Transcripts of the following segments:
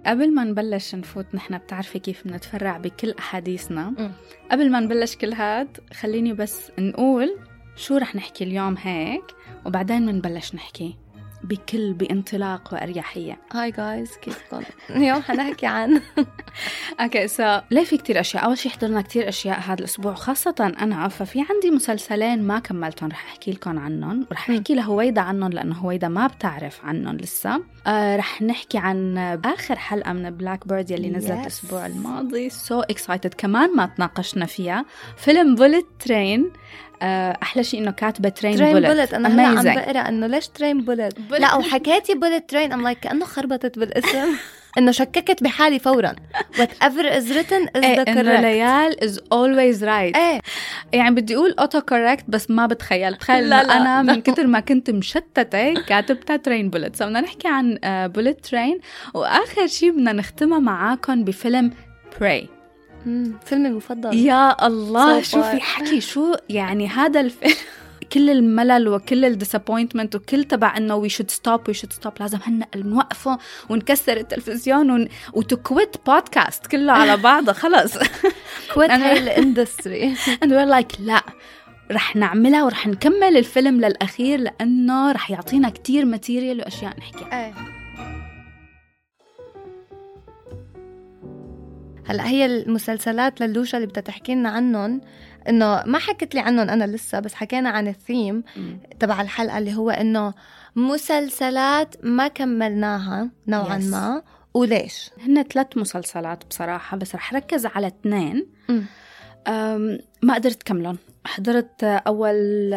قبل ما نبلش نفوت نحن بتعرفي كيف بنتفرع بكل أحاديثنا. قبل ما نبلش كل هاد خليني بس نقول شو رح نحكي اليوم هيك، وبعدين منبلش نحكي بانطلاق وأريحية. هاي جايز، كيفكم؟ اليوم حنحكي عن اوكي ليه في كتير أشياء. أول شي حضرنا كتير أشياء هذا الأسبوع، خاصة أنا، ففي عندي مسلسلين ما كملتهم رح أحكي لكم عنهم، ورح أحكي لهويدا عنهم لأنه هويدا ما بتعرف عنهم لسه. رح نحكي عن آخر حلقة من بلاك بيرد يلي نزلت الأسبوع الماضي. excited كمان ما تناقشنا فيها. فيلم بوليت ترين. أحلى شيء إنه كاتبة ترين بوليت. أنا هلا عم بقرأ إنه ليش ترين بوليت. لا وحكيتي بوليت ترين I'm like كأنه خربطت بالاسم. إنه شككت بحالي فورا. whatever is written is the correct. إنه ليال is always right. يعني بدي أقول auto correct بس ما بتخيل. تخيل أنا من كتر ما كنت مشتتة كاتبتها ترين بوليت. بدنا نحكي عن بوليت ترين، وآخر شيء بدنا نختمها معاكم بفيلم Prey. فيلمي المفضل. يا الله شو في حكي، شو يعني هذا الفيلم. كل الملل وكل الديسابوينتمنت وكل تبع انه we should stop لازم هن نوقفه ونكسر التلفزيون وتكويت بودكاست كله على بعضه خلص. كويت هاي الاندستري. and we're like لا رح نعملها ورح نكمل الفيلم للأخير لأنه رح يعطينا كتير ماتيريال وأشياء نحكي. هلأ هي المسلسلات للوشة اللي بتحكي لنا عنهم، إنه ما حكت لي عنهم أنا لسه، بس حكينا عن الثيم تبع الحلقة اللي هو إنه مسلسلات ما كملناها نوعا ما. وليش؟ هن 3 مسلسلات بصراحة، بس رح ركز على 2. ما قدرت كملهم. حضرت أول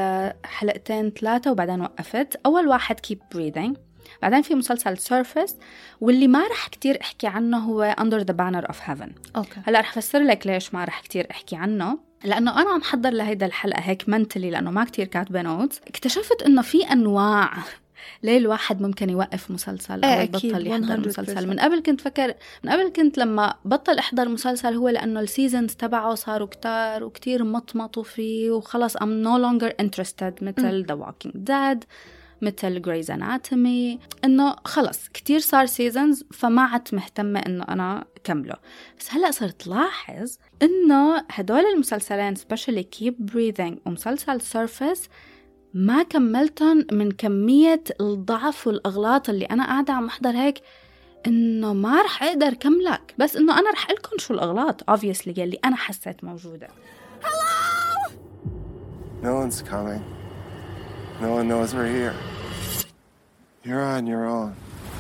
2-3 وبعدين وقفت. أول واحد Keep Breathing. بعدين في مسلسل Surface، واللي ما رح كتير احكي عنه هو Under the Banner of Heaven. هلأ رح فسر لك ليش ما رح كتير احكي عنه، لأنه أنا عم حضر لهيدا الحلقة هيك منتلي لأنه ما كتير كاتبة نوتس. اكتشفت إنه في أنواع ليه الواحد ممكن يوقف مسلسل أو يبطل يحضر مسلسل. من قبل كنت لما بطل أحضر مسلسل هو لأنه السيزنز تبعه صاروا كتار وكتير مطمطوا فيه وخلص I'm no longer interested، مثل The Walking Dead، مثل Grey's Anatomy، إنه خلص كتير صار سيزنز فما عدت مهتمة إنه أنا كمله. بس هلأ صرت لاحظ إنه هدول المسلسلين especially Keep Breathing ومسلسل Surface ما كملتهم من كمية الضعف والأغلاط اللي أنا قاعدة عم أحضر هيك، إنه ما رح أقدر كملك. بس إنه أنا رح أقولكم شو الأغلاط obviously يلي أنا حسيت موجودة. Hello! No one's coming. No one knows we're here. You're on your own.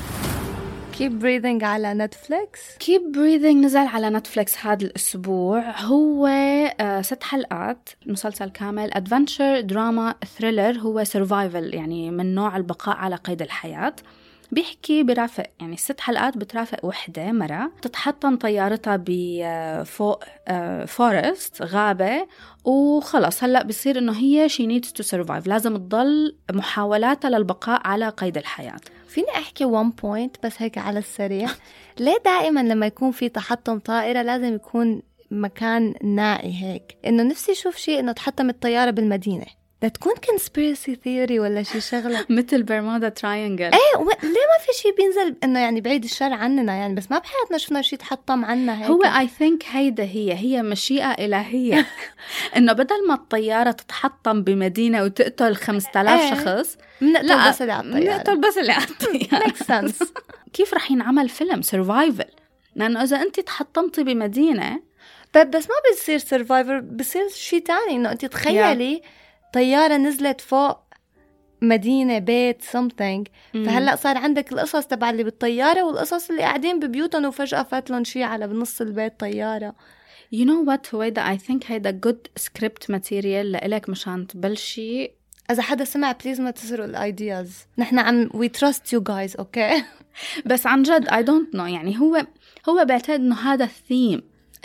Keep Breathing على نتفليكس. Keep Breathing نزل على نتفليكس هذا الأسبوع. هو 6 حلقات، مسلسل كامل، adventure drama thriller. هو survival يعني من نوع البقاء على قيد الحياة. بيحكي برافق يعني 6 حلقات بترافق وحدة مرة تتحطم طيارتها بفوق فورست غابة، وخلص هلأ بصير إنه هي she needs to survive، لازم تضل محاولاتها للبقاء على قيد الحياة. فيني أحكي one point بس هيك على السريع. ليه دائما لما يكون في تحطم طائرة لازم يكون مكان نائي هيك؟ إنه نفسي أشوف شيء إنه تحطم الطيارة بالمدينة، لا تكون conspiracy theory ولا شي شغلة مثل برمودا تراينجل. ليه ما في شي بينزل إنه يعني بعيد الشر عننا يعني، بس ما بحياتنا شفنا شي تحطم عنا هيك. هو I think هيدا هي مشيئة إلهية. إنه بدل ما الطيارة تتحطم بمدينة وتقتل 5000 شخص، نقتل بس اللي على الطيارة. makes sense. كيف رح ينعمل فيلم survival؟ لأنه إذا أنت تحطمتي بمدينة بس ما بيصير survivor، بيصير شي تاني. إنه أنت تخيلي طيارة نزلت فوق مدينة بيت something، فهلأ صار عندك القصص تبع اللي بالطيارة والقصص اللي قاعدين ببيوتهم وفجأة فاتلون شي على بنص البيت طيارة. You know what هويدا I think هيدا good script material لإلك مشان تبلشي. إذا حدا سمع please ما تسرقوا الأيدياز، نحن عم we trust you guys okay. بس عن جد I don't know يعني هو بعتقد إنه هذا الثيم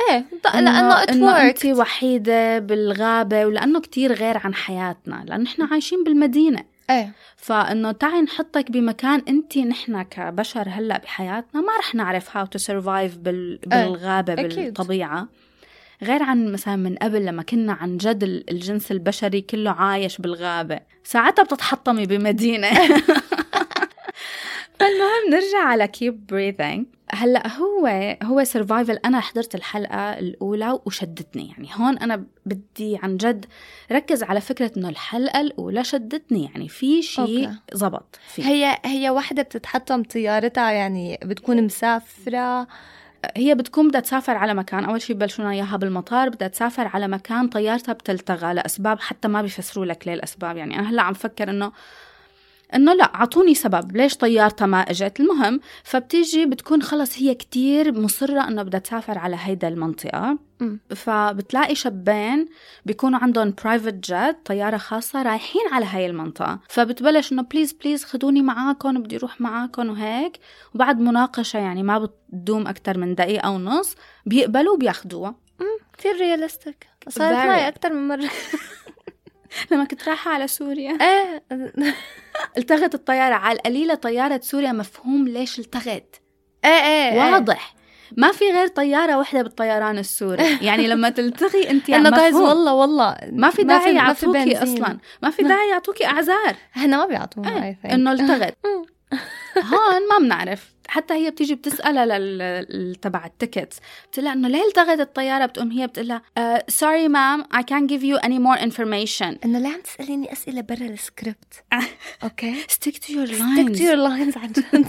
لأنه أنت وحيدة بالغابة، ولأنه كتير غير عن حياتنا، لأنه نحن عايشين بالمدينة. فإنه تعي نحطك بمكان أنت نحن كبشر هلأ بحياتنا ما رح نعرف how to survive بالغابة بالطبيعة، غير عن مثلا من قبل لما كنا عن جد الجنس البشري كله عايش بالغابة، ساعتها بتتحطمي بمدينة. فالمهم نرجع على Keep Breathing. هلأ هو سرفايفل. أنا حضرت الحلقة الأولى وشدتني، يعني هون أنا بدي عن جد ركز على فكرة إنه الحلقة الأولى شدتني، يعني في شيء زبط فيه. هي واحدة بتتحطم طيارتها، يعني بتكون مسافرة، هي بتكون بدها تسافر على مكان، أول شيء بلشونا إياها بالمطار، بدها تسافر على مكان طيارتها بتلتغى لأسباب حتى ما بيفسروا لك ليه الأسباب. يعني أنا هلأ عم فكر إنه لا، عطوني سبب ليش طيارتها ما إجت. المهم فبتيجي بتكون خلص هي كتير مصرة إنه بدها تسافر على هيدا المنطقة. فبتلاقي شابين بيكونوا عندهم برايفت جيت، طيارة خاصة، رايحين على هاي المنطقة. فبتبلش إنه بليز خدوني معاكم، بدي أروح معاكم وهيك. وبعد مناقشة يعني ما بتدوم أكتر من دقيقة أو نص بيقبلوا وبياخدوها. كتير رياليستيك. صارت معي أكتر من مرة لما كنت رايحة على سوريا التغت الطيارة على القليلة. طيارة سوريا مفهوم ليش التغت، واضح. ما في غير طيارة واحدة بالطيران السوري. يعني لما تلتغي انت يعني مفهوم والله ما في داعي يعطوكي اصلا، ما في داعي يعطوكي اعذار. هنا ما بيعطونا انه التغت. هون ما بنعرف. حتى هي بتيجي بتسألها تبع التيكتس، بتقولها انه ليه التغت الطيارة، بتقوم هي بتقولها sorry ma'am I can't give you any more information. انه ليه عم تسأليني اسئلة برا السكريبت؟ اوكي stick to your lines عن جد.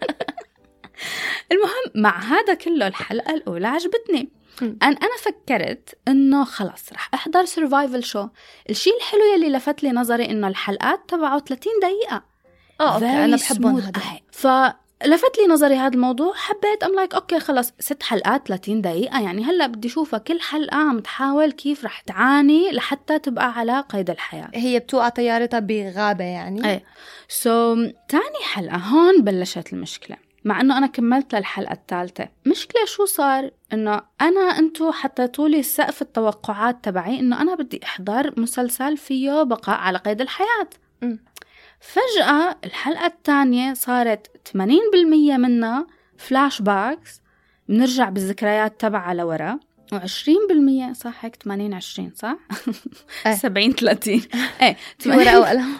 المهم مع هذا كله الحلقة الأولى عجبتني. أنا فكرت إنه خلاص رح أحضر survival show. الشيء الحلو يلي لفت لي نظري إنه الحلقات تبعه 30 دقيقة. أوكي أنا بحبهم هذا. فلفت لي نظري هذا الموضوع، حبيت like أوكي خلاص 6 حلقات 30 دقيقة، يعني هلأ بدي شوفها كل حلقة عم تحاول كيف رح تعاني لحتى تبقى على قيد الحياة. هي بتوقع طيارتها بغابة يعني. تاني حلقة هون بلشت المشكلة، مع أنه أنا كملت للحلقة الثالثة. مشكلة شو صار؟ إنه أنتو حطيتوا لي سقف التوقعات تبعي إنه أنا بدي أحضر مسلسل فيه بقاء على قيد الحياة. فجأة الحلقة الثانية صارت 80% منها فلاش باكس، بنرجع بالذكريات تبعها لورا، و20% صح هيك 80-20 صح؟ 70-30 ايه ورقة وقلم.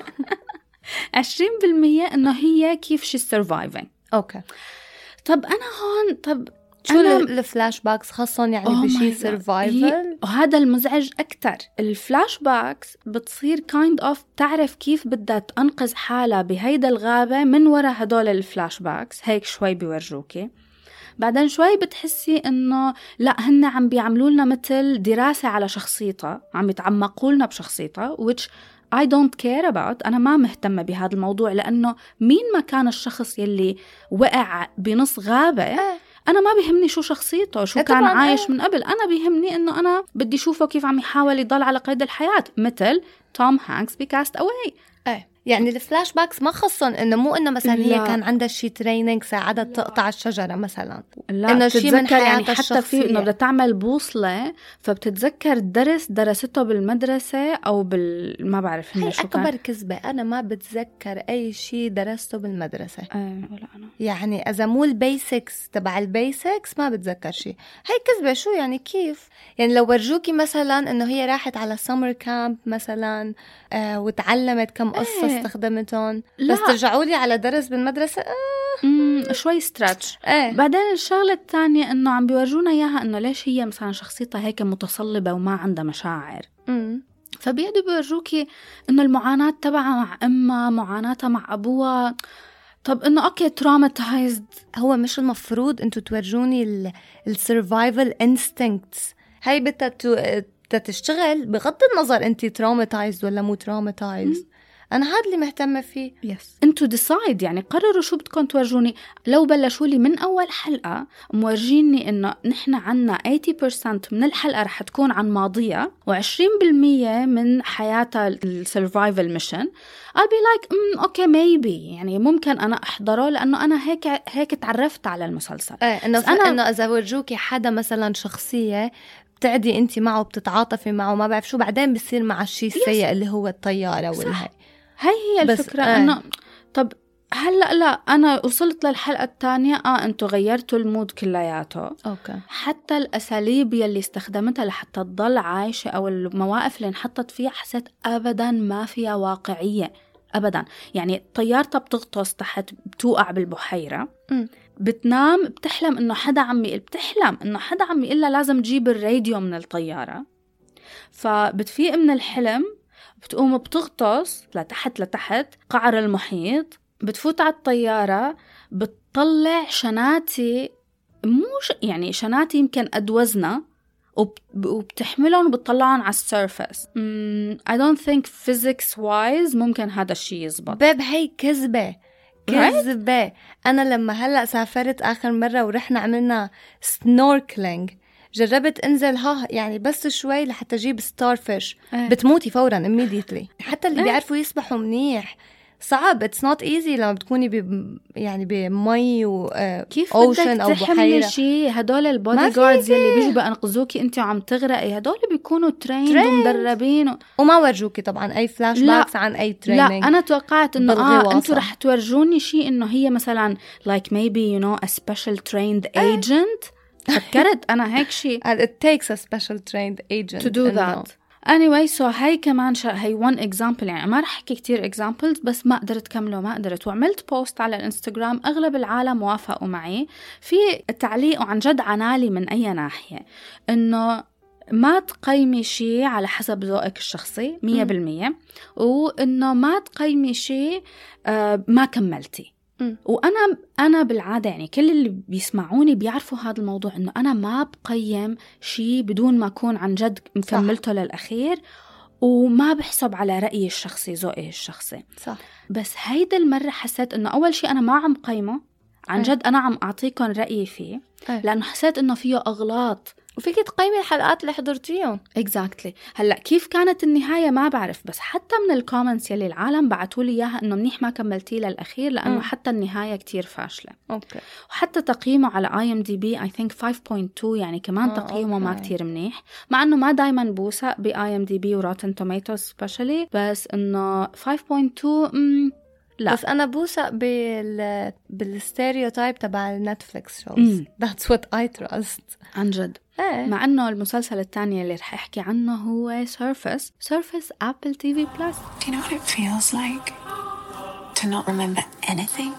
20% إنه هي كيف شي surviving. أوكي. طب أنا هون شو الفلاش باكس خاصة يعني بشي سيرفايفل؟ وهذا المزعج أكتر. الفلاش باكس بتصير kind of تعرف كيف بدها تنقذ حالها بهيدا الغابة من وراء هدول الفلاش باكس. هيك شوي بيورجوكي، بعدين شوي بتحسي إنه لا، هن عم بيعملوا لنا مثل دراسة على شخصيتها، عم يتعمقوا لنا بشخصيتها which I don't care about. أنا ما مهتمة بهذا الموضوع، لأنه مين ما كان الشخص يلي وقع بنص غابة أنا ما بيهمني شو شخصيته، شو كان عايش من قبل. أنا بيهمني إنه أنا بدي شوفه كيف عم يحاول يضل على قيد الحياة، مثل توم هانكس بكاست أواي. يعني الفلاش باكس ما خصن إنه مو إنه مثلا هي كان عندها شي تريننج ساعدها تقطع الشجرة مثلا، لا إنه شي من حياتها يعني حتى في إنه بدها تعمل بوصلة، فبتتذكر درس درسته بالمدرسة أو ما بعرف هي شو كان. أكبر كذبة، أنا ما بتذكر أي شي درسته بالمدرسة. ولا أنا يعني إذا مو البيسكس تبع البيسكس ما بتذكر شي. هاي كذبة. شو يعني كيف؟ يعني لو ورجوكي مثلا إنه هي راحت على سمر كامب مثلا وتعلمت كم قصة استخدمتهم، بس ترجعوا لي على درس بالمدرسة شوي ستراتش. بعدين الشغلة الثانية إنه عم بيورجونا إياها إنه ليش هي مثلا شخصيتها هيك متصلبة وما عندها مشاعر. فبيقعدوا بيورجوكي إنه المعاناة تبعها مع أمها، معاناتها مع أبوها. طب إنه أوكي تراماتايزد. هو مش المفروض أنتوا تورجوني السرفايفل انستينكتس؟ هاي بدها تشتغل بغض النظر أنتي تراماتايزد ولا مو تراماتايزد. أنا هذا اللي مهتمة فيه. انتوا ديسايد، يعني قرروا شو بدكم تورجوني. لو بلشوا لي من أول حلقة مورجيني إنه نحن عنا 80% من الحلقة رح تكون عن ماضيها و20% من حياتها السرفايفل ميشن، I'll be like okay maybe، يعني ممكن أنا أحضره لأنه أنا هيك تعرفت على المسلسل. إنه إذا ورجوكي حدا مثلا شخصية بتعدي أنت معه بتتعاطفي معه ما بعرف شو، بعدين بصير مع الشيء السيء اللي هو الطيارة والهي. هي الفكرة. إنه طب هلأ لا، أنا وصلت للحلقة الثانية أنتوا غيرتوا المود كلياته. أوكي. حتى الأساليب يلي استخدمتها لحتى تضل عايشة أو المواقف اللي انحطت فيها حسيت أبدا ما فيها واقعية أبدا. يعني طيارتها بتغطس تحت، بتوقع بالبحيرة، بتنام بتحلم إنه حدا عم يقول لها لازم تجيب الراديو من الطيارة. فبتفيق من الحلم، بتقوم بتغطس لتحت قعر المحيط، بتفوت على الطيارة، بتطلع شناتي يعني شناتي يمكن قد وزنها، وبتحملهم وبتطلعهم على السيرفس. I don't think physics wise ممكن هذا الشيء يزبط. باب هي كذبة. أنا لما هلأ سافرت آخر مرة ورحنا عملنا سنوركلينج، جربت انزل يعني بس شوي لحتى اجيب ستارفيش، بتموتي فورا immediately. حتى اللي بيعرفوا يسبحوا منيح صعب، it's not easy لما بتكوني يعني بمي كيف اوشن او بحيره. شيء هدول البودي جاردز اللي بيجوا بينقذوكي انت وعم تغرقي، هدول بيكونوا تريند ومدربين وما ورجوكي طبعا اي فلاش باكس عن اي تريننج. لا انا توقعت انه انتوا رح تورجوني شيء انه هي مثلا like maybe you know a special trained agent. فكرت أنا هيك شيء. It takes a special trained agent to do that. Anyway, so هاي كمان هاي one example. يعني ما رح أحكي كتير examples، بس ما قدرت كمله، ما قدرت. وعملت بوست على الانستغرام، أغلب العالم وافقوا معي في التعليق، وعن جد عنالي من أي ناحية إنه ما تقيمي شيء على حسب ذوقك الشخصي 100%، وإنه ما تقيمي شيء ما كملتي. وأنا بالعادة يعني كل اللي بيسمعوني بيعرفوا هذا الموضوع، إنه أنا ما بقيم شيء بدون ما أكون عن جد مكملته للأخير، وما بحسب على رأيي الشخصي، ذوقي الشخصي. صح. بس هيدا المرة حسيت إنه أول شيء أنا ما عم قيمه عن جد، أنا عم أعطيكم رأيي فيه، لأنه حسيت إنه فيه أغلاط، وفيك تقيمي الحلقات اللي حضرتيهم. exactly. هلأ كيف كانت النهاية ما بعرف، بس حتى من الكومنتس يلي العالم بعتوا لي إياها إنه منيح ما كملتيه للأخير، لأنه حتى النهاية كتير فاشلة. وحتى تقييمه على IMDb I think 5.2، يعني كمان تقييمه ما كتير منيح، مع إنه ما دايما بوثق ب IMDb و Rotten Tomatoes especially، بس إنه 5.2 لا. بس أنا بوثق بالستيريوتايب تبع النتفليكس شوز. That's what I trust. عن جد. مع أنه المسلسل الثاني اللي رح أحكي عنه هو Surface Apple TV+. Do you know what it feels like to not remember anything?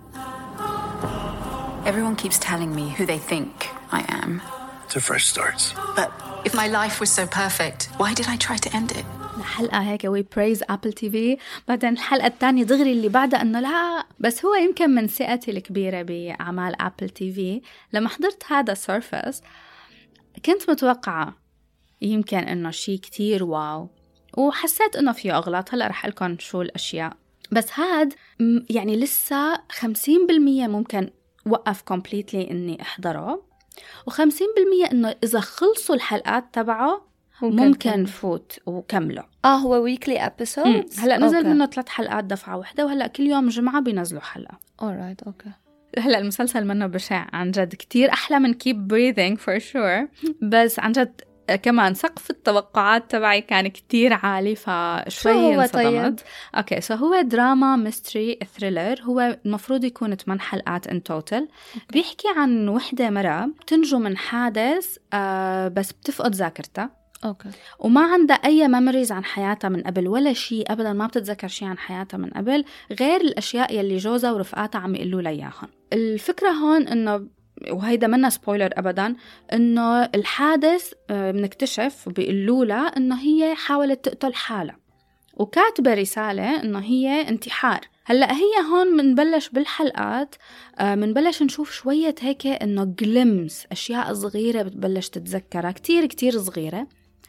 Everyone keeps telling me who they think I am. It's a fresh start. But if my life was so perfect, why did I try to end it? الحلقة هيك we praise Apple TV، بعدين الحلقة الثانية دغري اللي بعدها أنه لا. بس هو يمكن من ثقتي الكبيرة بأعمال Apple TV، لما حضرت هذا Surface كنت متوقعة يمكن أنه شيء كتير واو، وحسيت أنه فيه أغلاط. هلأ رح لكم شو الأشياء، بس هاد يعني لسه 50% ممكن وقف completely إني أحضره، و50% إنه إذا خلصوا الحلقات تبعه ممكن فوت وكمله. هو weekly episodes. هلأ نزل منه 3 حلقات دفعة واحدة، وهلأ كل يوم جمعة بينزلوا حلقة. alright okay. هلأ المسلسل منه بشع عن جد، كتير أحلى من Keep Breathing for sure، بس عن جد كمان سقف التوقعات تبعي كان كتير عالي، فشوي انصدمت. اوكي سو هو دراما ميستري ثريلر، هو المفروض يكون 8 حلقات ان توتال. بيحكي عن وحدة مرة بتنجو من حادث بس بتفقد ذاكرتها، وما عندها أي ميموريز عن حياتها من قبل ولا شيء أبدا، ما بتتذكر شيء عن حياتها من قبل غير الأشياء يلي جوزها ورفقاتها عم يقولوا لها إياها. الفكرة هون إنه، وهيدا منا سبويلر أبدا، إنه الحادث بنكتشف وبيقولوا لها إنه هي حاولت تقتل حالها، وكاتبة رسالة إنه هي انتحار. هلأ هي هون منبلش بالحلقات منبلش نشوف شوية هيك إنه جلمس، أشياء صغيرة بتبلش تتذكرها كتير كتير صغيرة،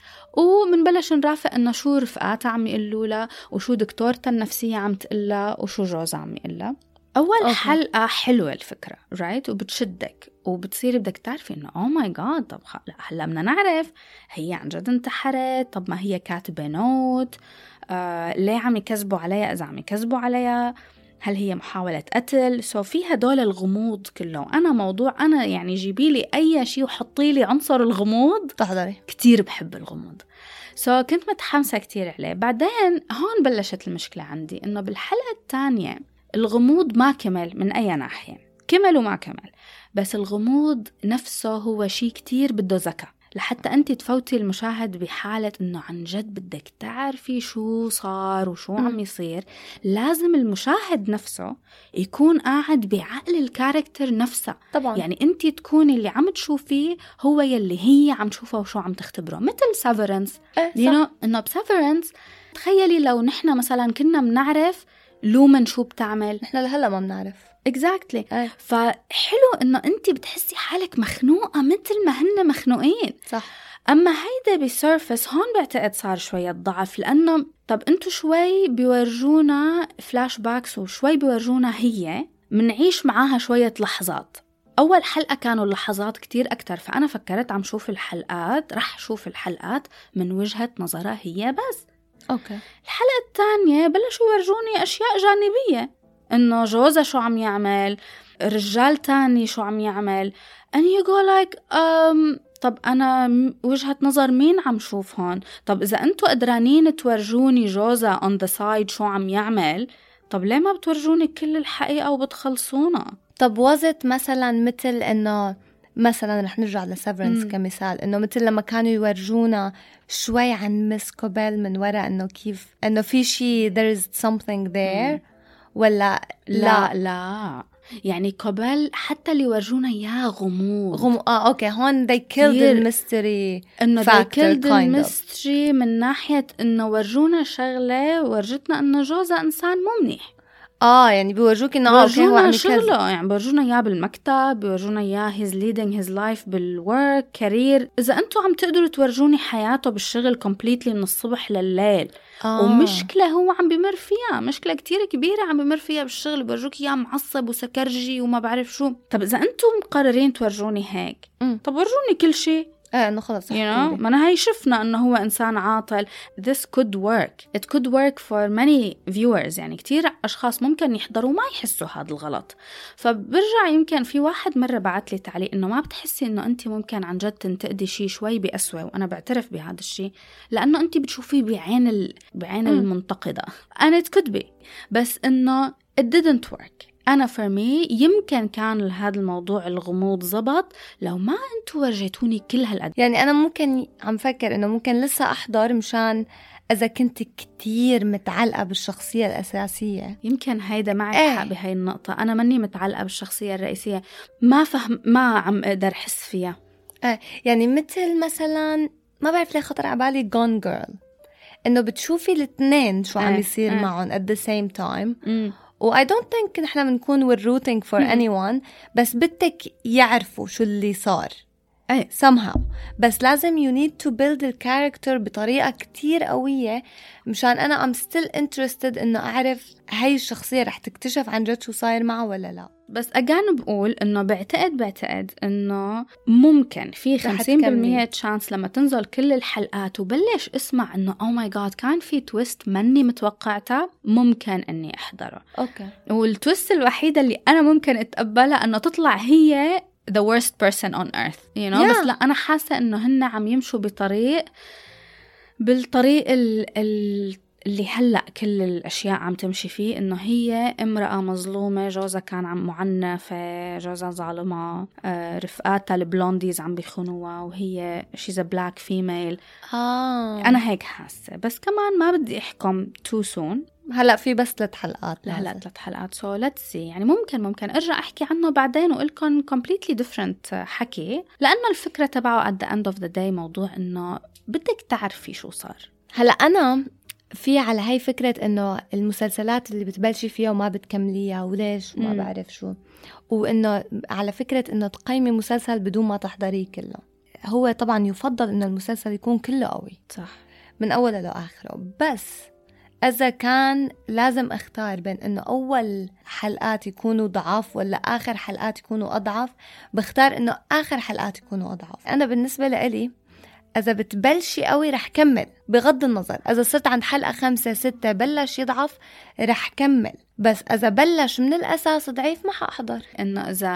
ومنبلش نرافق إنه شو رفقاتها عم يقولوا لها، وشو دكتورتها النفسية عم تقلها، وشو جوزها عم يقلها. أول حلقة حلوة الفكرة رايت، وبتشدك وبتصيري بدك تعرفي إنه أوه ماي جاد، طب هلا بدنا نعرف هي عن جد انتحرت، طب ما هي كاتبة نوت، ليه عم يكذبوا عليها؟ إذا عم يكذبوا عليها هل هي محاولة قتل؟ في هدول الغموض كله. أنا يعني جيبي لي أي شيء وحطي لي عنصر الغموض تحضري، كتير بحب الغموض. كنت متحمسة كتير عليه. بعدين هون بلشت المشكلة عندي، إنه بالحلقة الثانية الغموض ما كمل من أي ناحية، كمل وما كمل، بس الغموض نفسه هو شيء كتير بده ذكاء، لحتى أنت تفوتي المشاهد بحالة إنه عن جد بدك تعرفي شو صار وشو عم يصير. لازم المشاهد نفسه يكون قاعد بعقل الكاركتر نفسها طبعا. يعني أنت تكوني اللي عم تشوفيه هو يلي هي عم تشوفه وشو عم تختبره. مثل سيفرنس إنه بسيفرنس تخيلي لو نحنا مثلا كنا منعرف لومن شو بتعمل، نحنا لهلا ما بنعرف exactly. فحلو إنه أنت بتحسي حالك مخنوقة مثل ما هن مخنوقين. صح. أما هيدا بسيرفس هون بعتقد صار شوية ضعف، لأنه طب أنتو شوي بيورجونا فلاش باكس وشوي بيورجونا هي منعيش معاها شوية لحظات. أول حلقة كانوا اللحظات كتير أكتر، فأنا فكرت عم شوف الحلقات رح شوف الحلقات من وجهة نظرها هي بس. أوكي. الحلقة الثانية بلشوا يورجوني أشياء جانبية، إنه جوزها شو عم يعمل، رجال تاني شو عم يعمل، and you go like طب أنا وجهة نظر مين عم شوف هون؟ طب إذا أنتوا قدرانين تورجوني جوزها on the side شو عم يعمل، طب ليه ما بتورجوني كل الحقيقة وبتخلصونا؟ طب وزت مثلا مثل إنه مثلا رح نرجع لسيفرنس كمثال، إنه مثل لما كانوا يورجونا شوي عن مس كوبيل من وراء إنه كيف إنه في شيء there is something there ولا لا يعني كوبيل حتى اللي ورجونا إياه غموض. أوكي هون they killed the mystery إنه they killed the kind mystery من ناحية إنه ورجونا شغلة ورجتنا إنه جوزها إنسان مو منيح. يعني بيورجوك إنه هو عم شغله، يعني بيورجونا إياه بالمكتب، بيورجونا إياه he's leading his life بالwork career. إذا أنتوا عم تقدروا تورجوني حياته بالشغل completely من الصبح لليل ومشكلة هو عم بمر فيها، مشكلة كتير كبيرة عم بمر فيها بالشغل، بيورجوك إياه معصب وسكرجي وما بعرف شو. طب إذا أنتوا مقررين تورجوني هيك طب ورجوني كل شيء. إنه خلص ما أنا هاي شفنا إنه هو إنسان عاطل. This could work. It could work for many viewers. يعني كتير أشخاص ممكن يحضروا ما يحسوا هذا الغلط. فبرجع يمكن في واحد مرة بعت لي تعليق إنه ما بتحسي إنه أنت ممكن عن جد تنتقدي شيء شوي بأسوأ، وأنا بعترف بهذا الشيء لأنه أنت بتشوفيه بعين المنتقدة. and it could be بس إنه it didn't work. أنا for me يمكن كان هذا الموضوع الغموض زبط لو ما أنتوا ورجيتوني كل هالقد. يعني أنا ممكن عم فكر إنه ممكن لسه أحضر مشان إذا كنت كتير متعلقة بالشخصية الأساسية. يمكن هيدا معك حق بهاي النقطة. أنا مني متعلقة بالشخصية الرئيسية، ما عم أقدر حس فيها. يعني مثلا ما بعرف ليه خطر عبالي Gone Girl، إنه بتشوفي الاثنين شو عم يصير معهم at the same time. و I don't think نحنا بنكون we're rooting for anyone، بس بدك يعرفوا شو اللي صار somehow. بس لازم you need to build the character بطريقة كتير قوية مشان أنا I'm still interested إنه أعرف هاي الشخصية رح تكتشف عن جد شو صاير معه ولا لا. بس أجان بقول إنه بعتقد إنه ممكن في 50% تشانس لما تنزل كل الحلقات وبلش اسمع إنه oh my god كان في تويست مني متوقعتها، ممكن إني أحضره. أوكي. والتويست الوحيدة اللي أنا ممكن أتقبلها إنه تطلع هي the worst person on earth you know. بس لا أنا حاسة إنه هن عم يمشوا بالطريق اللي هلأ كل الأشياء عم تمشي فيه، إنه هي امرأة مظلومة، جوزها كان عم معنفة، جوزها ظالمة، رفقاتها البلونديز عم بيخونوها، وهي she's a black female. أنا هيك حاسة، بس كمان ما بدي أحكم too soon. هلأ في بس 3 حلقات. هلأ 3 حلقات so let's see. يعني ممكن أرجع أحكي عنه بعدين وقلكن completely different حكي، لأنه الفكرة تبعه at the end of the day موضوع إنه بدك تعرفي شو صار. هلأ أنا في على هاي فكرة إنه المسلسلات اللي بتبلشي فيها وما بتكمليها وليش وما بعرف شو، وإنه على فكرة إنه تقيمي مسلسل بدون ما تحضريه كله. هو طبعا يفضل إنه المسلسل يكون كله قوي صح من أوله لآخره، بس إذا كان لازم أختار بين إنه أول حلقات يكونوا ضعاف ولا آخر حلقات يكونوا أضعف، بختار إنه آخر حلقات يكونوا أضعف. أنا بالنسبة لإلي إذا بتبلشي قوي رح كمل بغض النظر، إذا صرت عند حلقة 5 6 بلش يضعف رح كمل، بس إذا بلش من الأساس ضعيف ما حأحضر. إنه إذا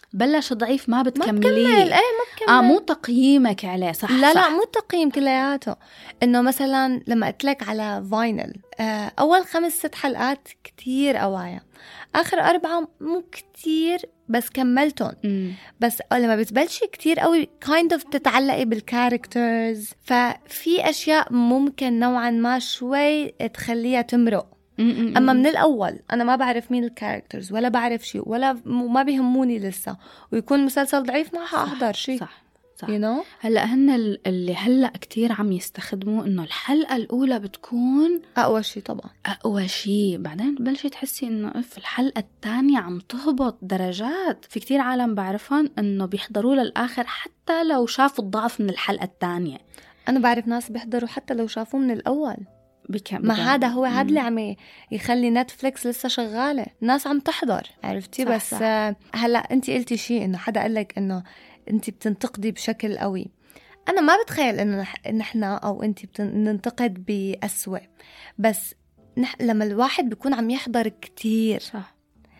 بلش ضعيف ما بتكمليه. ما بكمل. مو تقييمك عليه. صح لا صح. لا مو تقييم كلياته. إنه مثلا لما قلت لك على فاينل أول 5-6 حلقات كتير قوايا، آخر 4 مو كتير بس كملتهم. بس لما بتبلشي كتير قوي kind of تتعلقي بالكاركترز، ففي أشياء ممكن نوعا ما شوي تخليها تمرق. أما من الأول أنا ما بعرف مين الكاركترز ولا بعرف شيء ولا ما بيهموني لسه، ويكون مسلسل ضعيف ما حأحضر شيء. صح صح. you know؟ هلأ هن اللي هلأ كتير عم يستخدموا إنه الحلقة الأولى بتكون أقوى شيء طبعا، أقوى شيء، بعدين بلشي تحسي إنه في الحلقة الثانية عم تهبط درجات. في كتير عالم بعرفهم إنه بيحضروا للآخر حتى لو شافوا الضعف من الحلقة الثانية. أنا بعرف ناس بيحضروا حتى لو شافوه من الأول. ما هذا هو هذا اللي عم يخلي نتفليكس لسه شغالة، ناس عم تحضر، عرفتي؟ صح بس صح. هلأ أنت قلتي شيء إنه حدا قال لك إنه أنت بتنتقدي بشكل قوي. أنا ما بتخيل إنه نحن أو أنت بننتقد بأسوأ، بس لما الواحد بيكون عم يحضر كتير صح،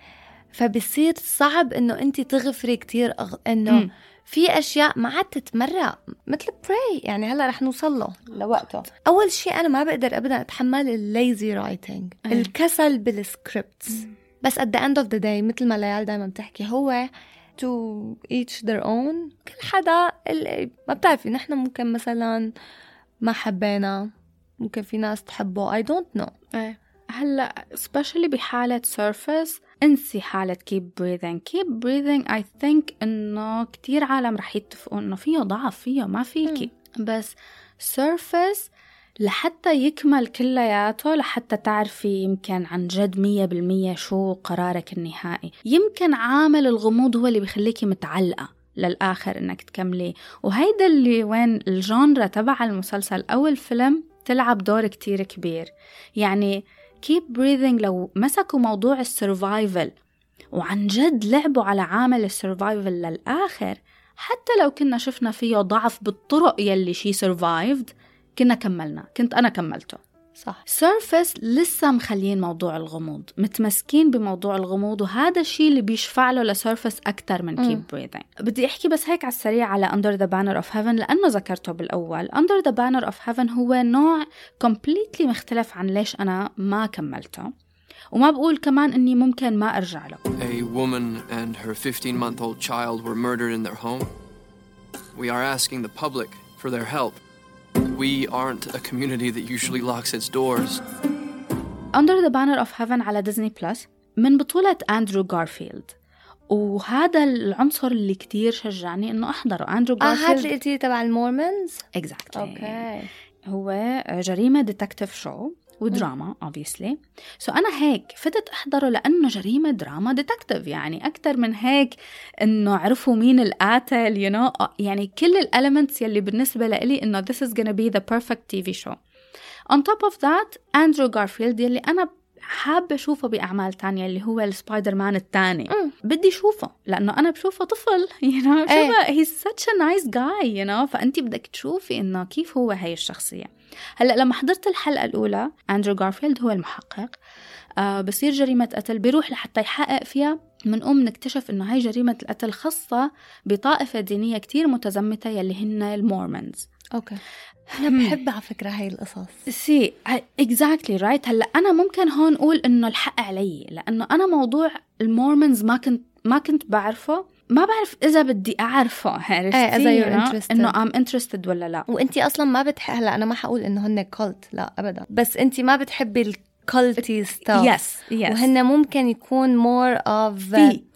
فبصير صعب إنه أنت تغفري كتير إنه في أشياء ما عاد تتمرق مثل براي. يعني هلأ رح نوصل له لوقته. أول شيء أنا ما بقدر أبداً أتحمل الليزي رايتنج، الكسل بالسكريبتس. بس at the end of the day مثل ما ليال دايما بتحكي هو to each their own. كل حدا اللي ما بتعرفي، نحن ممكن مثلا ما حبينا، ممكن في ناس تحبه I don't know. هلأ especially بحالة Surface انسي حالة keep breathing I think إنه كتير عالم رح يتفقوا إنه فيه ضعف، فيه ما فيكي. بس Surface لحتى يكمل كلياته، لحتى تعرفي يمكن عن جد 100% شو قرارك النهائي. يمكن عامل الغموض هو اللي بيخليكي متعلقة للآخر إنك تكملي، وهيدا اللي وين الجانرا تبع المسلسل أو الفيلم تلعب دور كتير كبير. يعني keep breathing لو مسكوا موضوع السرفايفل وعن جد لعبوا على عامل السرفايفل للآخر، حتى لو كنا شفنا فيه ضعف بالطرق يلي شي survived كنت أنا كملته. صح. Surface لسه مخلين موضوع الغموض، متمسكين بموضوع الغموض، وهذا الشيء اللي بيشفع له لسيرفس أكتر من keep breathing. بدي أحكي بس هيك على السريع على Under the Banner of Heaven لأنه ذكرته بالأول. Under the Banner of Heaven هو نوع completely مختلف عن ليش أنا ما كملته، وما بقول كمان إني ممكن ما أرجع له. A woman and her 15-month-old child were murdered in their home. We are asking the public for their help. We aren't a community that usually locks its doors. Under the Banner of Heaven على ديزني بلس من بطولة أندرو غارفيلد، وهذا العنصر اللي كتير شجعني إنه أحضره. أندرو غارفيلد هاد اللي قلتي تبع المورمونز. exactly. أوكي. هو جريمة ديتكتيف شو ودراما obviously. أنا هيك فتت أحضره لأنه جريمة دراما ديتكتيف، يعني أكتر من هيك إنه عرفوا مين القاتل يعني كل الاليمنتس يلي بالنسبة لي إنه this is gonna be the perfect TV show. On top of that أندرو غارفيلد يلي أنا حابة أشوفه بأعمال تانية اللي هو السبايدر مان التاني. بدي أشوفه لأنه أنا بشوفه طفل he's such a nice guy فأنتي بدك تشوفي إنه كيف هو هاي الشخصية. هلأ لما حضرت الحلقة الأولى أندرو غارفيلد هو المحقق، بصير جريمة قتل بيروح لحتى يحقق فيها. منقوم نكتشف إنه هاي جريمة القتل خاصة بطائفة دينية كتير متزمتة يلي هن المورمونز. أوكي. أنا بحب على فكرة هاي القصص. exactly right. هلأ أنا ممكن هون أقول إنه الحق علي لأنه أنا موضوع المورمونز ما كنت بعرفه، ما بعرف إذا بدي أعرفه، عرفتي؟ إنه I'm interested ولا لا. وإنتي أصلاً ما بتحب. هلا أنا ما حقول إنه هن كولت، لا أبداً، بس إنتي ما بتحبي الكولتي ستاف. yes. وهن ممكن يكون more of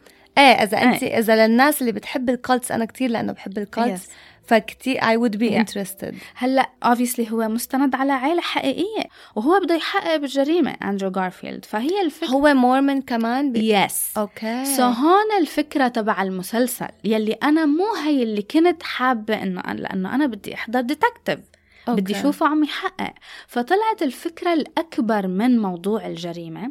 إذا للناس اللي بتحب الكولتس، أنا كتير لأنه بحب الكولتس فكتير I would be interested. هلأ obviously هو مستند على عائلة حقيقية وهو بده يحقق بالجريمة أندرو غارفيلد، فهي الفكرة. هو مورمون كمان yes. أوكي. هون الفكرة تبع المسلسل يلي أنا مو هي اللي كنت حابة لأنه أنا بدي أحضر ديتكتيف، بدي أشوفه عم يحقق. فطلعت الفكرة الأكبر من موضوع الجريمة.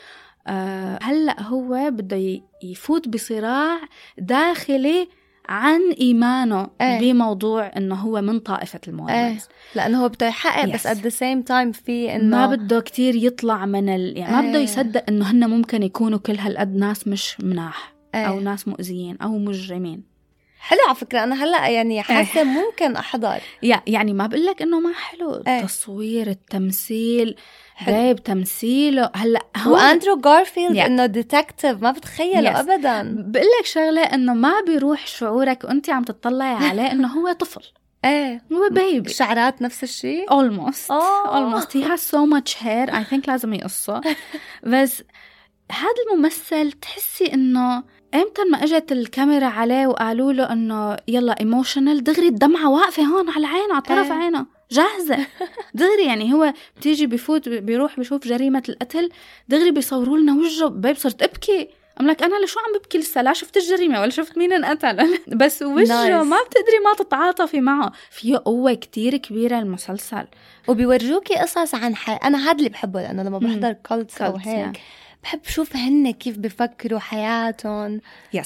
هلأ هو بده يفوت بصراع داخلي عن إيمانه بموضوع إنه هو من طائفة المورمونز، لأنه هو بده يحقق بس at the same time في إنه ما بده كتير يطلع من يعني ما بده يصدق إنه هن ممكن يكونوا كل هالقد ناس مش مناح. أو ناس مؤذيين أو مجرمين. حلو على فكرة. أنا هلأ يعني حاسة ممكن أحضر. يعني ما بقولك إنه ما حلو. التصوير، التمثيل، جايب تمثيله هلأ. وأندرو غارفيلد إنه ديتكتيف ما بتخيله أبدا. بقولك شغلة إنه ما بيروح شعورك وأنت عم تطلعي عليه إنه هو طفل. هو بيبي. الشعرات نفس الشيء. almost he has so much hair. I think لازم يقصه. بس هذا الممثل تحسي إنه امتى ما اجت الكاميرا عليه وقالوا له انه يلا ايموشنال، دغري الدمعه واقفه هون على عينه، على طرف عينه جاهزه دغري. يعني هو بتيجي بفوت بيروح بيشوف جريمه القتل، دغري بيصوروا لنا وجهه. بيب صرت ابكي، أملك أنا لشو عم ببكي لسه؟ لا شفت الجريمة ولا شفت مين انقتل. بس وجهه ما بتقدري ما تتعاطفي معه. فيه قوة كتير كبيرة المسلسل، وبيورجوكي قصص عن أنا هذا اللي بحبه، لأنه لما بحضر كولتس أو هيك بحب شوف هن كيف بفكروا حياتهم.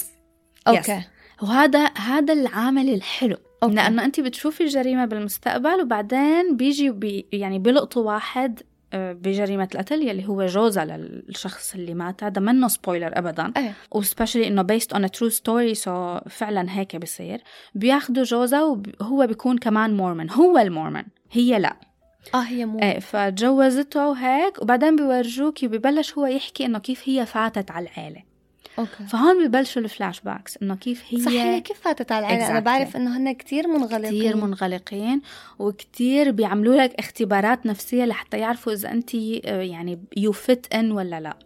أوكي. وهذا العامل الحلو. لأنه أنت بتشوفي الجريمة بالمستقبل وبعدين بيجي يعني بيلقطوا واحد بجريمة القتل يلي هو جوزها للشخص اللي مات. هذا منه سبويلر أبدا. وسبيشلي إنه based on a true story، so فعلا هيك بيصير. بياخدوا جوزها وهو بيكون كمان مورمن. هو المورمن، هي لا. هي مو فجوزته وهيك. وبعدين بيورجوكي ببلش هو يحكي إنه كيف هي فاتت على العائلة. فهون ببلشوا الفلاش باكس إنه كيف هي صحيح كيف فاتت على العائلة. أنا بعرف إنه هن كتير منغلقين وكتير بيعملوا لك اختبارات نفسية لحتى يعرفوا إذا أنت يعني you fit in ولا لا.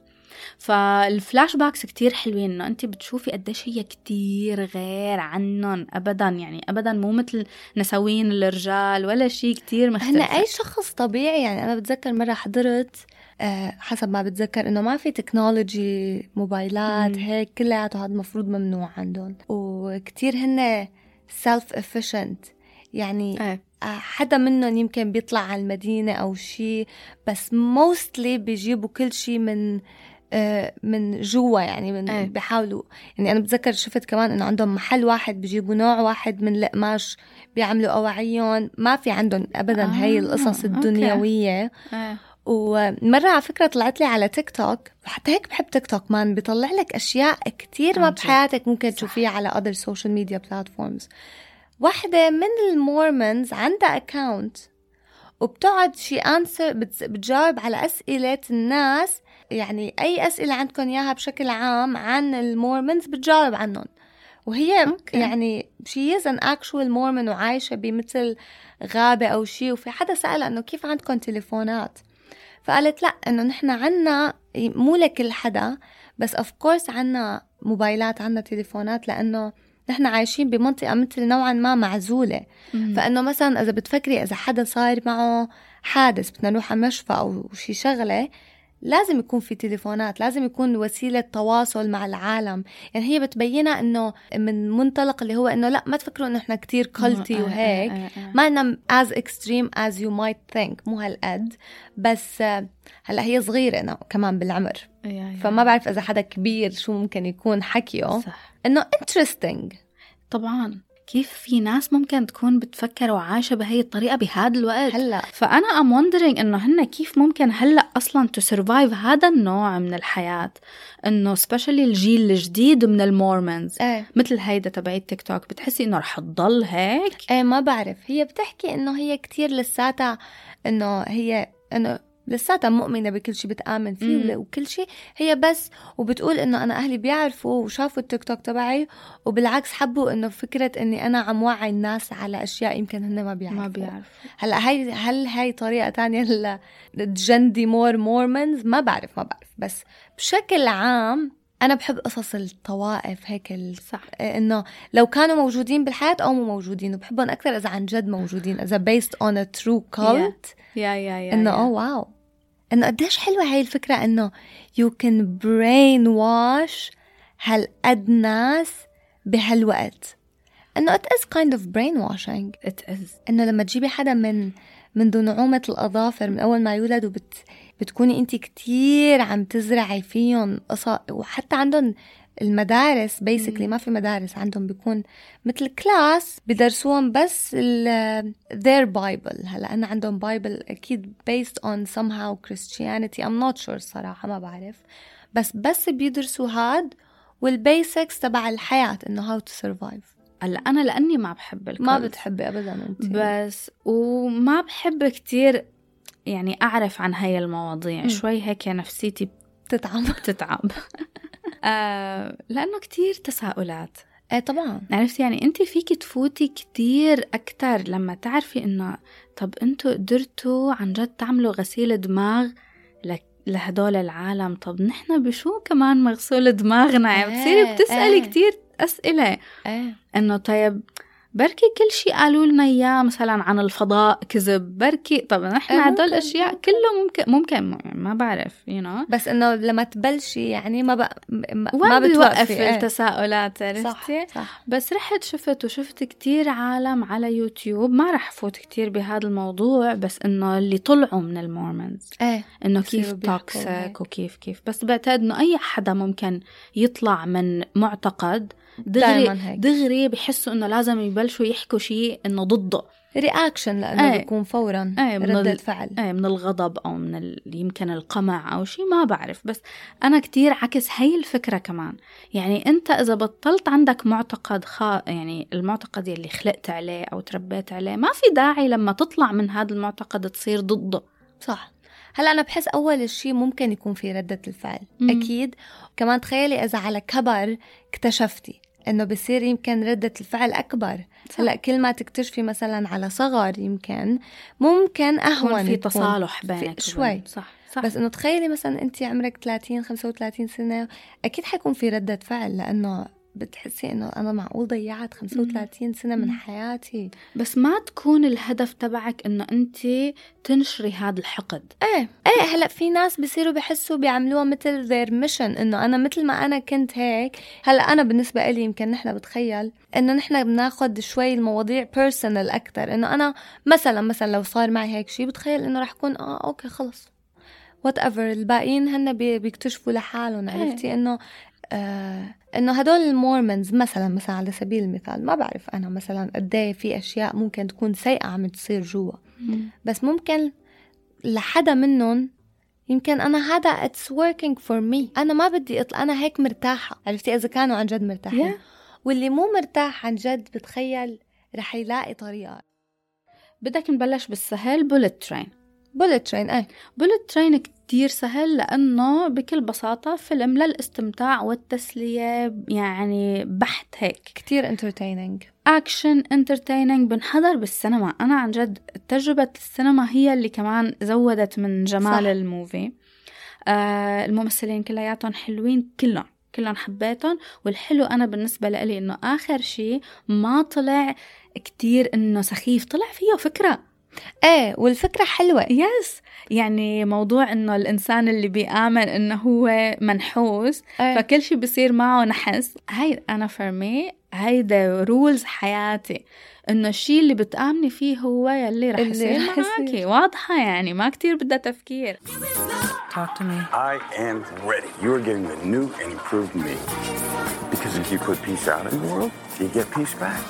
فالفلاش باكس كتير حلوين، إنه أنت بتشوفي قديش هي كتير غير عنهم أبدا. يعني أبدا مو مثل نسوين الرجال ولا شيء، كتير مختلف. هن أي شخص طبيعي. يعني أنا بتذكر مرة حضرت حسب ما بتذكر إنه ما في تكنولوجي موبايلات هيك كلها، هذا مفروض ممنوع عندهم. وكتير هن self efficient. يعني حدا منهم يمكن بيطلع على المدينة أو شيء، بس mostly بيجيبوا كل شيء من جوا. يعني من بيحاولوا. يعني أنا بتذكر شفت كمان إنه عندهم محل واحد بيجيبوا نوع واحد من القماش بيعملوا أواعيهم. ما في عندهم أبدا هاي القصص الدنيوية. ومرة على فكرة طلعت لي على تيك توك، حتى هيك بحب تيك توك مان، بيطلع لك أشياء كتير ما بحياتك ممكن تشوفيها على other social media platforms. واحدة من المورمنز عندها أكاونت وبتقعد بتجاوب على أسئلة الناس. يعني أي أسئلة عندكم إياها بشكل عام عن المورمنز بتجاوب عنهم. وهي يعني she is an actual Mormon وعايشة بمثل غابة أو شيء. وفي حدا سألها إنه كيف عندكم تليفونات؟ فقالت لا، إنه نحن عنا مو لكل حدا، بس of course عنا موبايلات، عنا تليفونات، لأنه نحن عايشين بمنطقة مثل نوعا ما معزولة. فإنه مثلا إذا بتفكري إذا حدا صار معه حادث بدنا نروح على مشفى أو شي شغلة، لازم يكون في تليفونات، لازم يكون وسيلة تواصل مع العالم. يعني هي بتبينها إنه من منطلق اللي هو إنه لا، ما تفكروا إنه إحنا كتير كولتي وهيك. ما إنه as extreme as you might think، مو هالقد. بس هلأ هي صغيرة كمان بالعمر، فما بعرف إذا حدا كبير شو ممكن يكون حكيه. إنه interesting. طبعاً كيف في ناس ممكن تكون بتفكر وعايشة بهي الطريقة بهذا الوقت هلأ. فأنا I'm wondering إنه هن كيف ممكن هلأ أصلاً to survive هذا النوع من الحياة. إنه especially الجيل الجديد من المورمنز مثل هيدا تبعي تيك توك، بتحسي إنه رح تضل هيك؟ ما بعرف. هي بتحكي إنه هي كتير لساتها، إنه هي إنه لساتها مؤمنة بكل شيء، بتآمن فيه وكل شيء هي بس. وبتقول إنه أنا أهلي بيعرفوا وشافوا التيك توك تبعي، وبالعكس حبوا إنه فكرة إني أنا عم وعي الناس على أشياء يمكن هن ما بيعرفوا. هلأ هل هاي طريقة تانية لتجندي مورمنز؟ ما بعرف. بس بشكل عام أنا بحب قصص الطوائف هيك صح. إنه لو كانوا موجودين بالحياة أو مو موجودين، وبحبهم أكثر إذا عن جد موجودين، إذا based on a true cult. إنه واو، إنه قديش حلوة هاي الفكرة إنه you can brainwash هالقد ناس بهالوقت. إنه it is kind of brainwashing. it is. إنه لما تجيبي حدا من دون نعومة الأظافر من أول ما يولد، بتكوني أنت كتير عم تزرعي فيهم قصة. وحتى عندهم المدارس basically ما في مدارس عندهم، بيكون مثل كلاس بدرسوهم بس their Bible. هلا أنا عندهم Bible أكيد based on somehow Christianity. I'm not sure صراحة، ما بعرف. بس بيدرسوا هاد والبيسكس تبع الحياة إنه how to survive. هلا أنا لأني ما بحب الكلب، ما بتحبي أبدا أنت، بس وما بحب كتير يعني أعرف عن هاي المواضيع. شوي هيك نفسيتي بتتعب لأنه كتير تساؤلات. طبعا عرفت يعني أنت فيك تفوتي كتير أكتر لما تعرفي إنه طب أنتوا قدرتوا عن جد تعملوا غسيل دماغ لهدول العالم، طب نحن بشو كمان مغسول دماغنا؟ بتصيري بتسألي كتير أسئلة إنه طيب بركي كل شيء قالوا لنا إياه مثلا عن الفضاء كذب، بركي طب نحن هدول الأشياء كله ممكن ما بعرف بس إنه لما تبلشي يعني ما بتوقف التساؤلات. عرفتي؟ صح. بس رحت شفت كتير عالم على يوتيوب، ما رح فوت كتير بهذا الموضوع، بس إنه اللي طلعوا من المورمونز إنه كيف توكسيك وكيف بس بعتقد إنه أي حدا ممكن يطلع من معتقد دغري بحسوا إنه لازم يبلشوا يحكوا شيء إنه ضده رياكشن، لأنه بيكون فوراً ردة فعل من الغضب أو من يمكن القمع أو شيء ما بعرف. بس أنا كتير عكس هاي الفكرة كمان. يعني أنت إذا بطلت عندك معتقد يعني المعتقد يلي خلقت عليه أو تربيت عليه، ما في داعي لما تطلع من هذا المعتقد تصير ضده. صح. هلأ أنا بحس أول شيء ممكن يكون في ردة الفعل أكيد. كمان تخيلي إذا على كبر اكتشفتي إنه بصير يمكن ردة الفعل أكبر. هلأ كل ما تكتشفي مثلا على صغر يمكن ممكن أهون في تصالح بينك شوي. صح. بس إنه تخيلي مثلا أنت عمرك 30-35 سنة، أكيد حيكون في ردة فعل، لأنه بتحسي إنه أنا معقول ضيعت 35 سنة من حياتي. بس ما تكون الهدف تبعك إنه أنت تنشري هذا الحقد. هلأ في ناس بيصيروا بيحسوا بيعملوها مثل their mission، إنه أنا مثل ما أنا كنت هيك. هلأ أنا بالنسبة إلي يمكن نحن بتخيل إنه نحن بناخد شوي المواضيع personal أكتر، إنه أنا مثلا لو صار معي هيك شيء بتخيل إنه رح يكون أوكي خلص whatever، الباقيين هن بيكتشفوا لحالهم. عرفتي إنه هدول المورمونز مثلا على سبيل المثال، ما بعرف أنا مثلا قديه في أشياء ممكن تكون سيئة عم تصير جوا، بس ممكن لحدا منهم يمكن أنا هذا it's working for me، أنا ما بدي أنا هيك مرتاحة. عرفتي؟ إذا كانوا عن جد مرتاحين واللي مو مرتاح عن جد بتخيل رح يلاقي طريقة. بدك نبلش بالسهل. بولت ترين كتير سهل، لأنه بكل بساطة فيلم للاستمتاع والتسلية، يعني بحت هيك، كتير entertaining، أكشن entertaining، بنحضر بالسينما. أنا عن جد تجربة السينما هي اللي كمان زودت من جمال الموفي. الممثلين كلياتهم حلوين، كلهم حبيتهم. والحلو أنا بالنسبة لي إنه آخر شيء ما طلع كتير إنه سخيف، طلع فيه فكرة. والفكرة حلوة. يعني موضوع إنه الإنسان اللي بيآمن إنه هو منحوس فكل شيء بيصير معه نحس، هاي أنا فرمي هيدا رولز حياتي، إنه الشيء اللي بتآمني فيه هو يلي رح يصير معاكي. واضحة يعني، ما كتير بدها تفكير. Talk to me. I am ready. You are getting the new and improved me. Because if you put peace out in the world, you get peace back.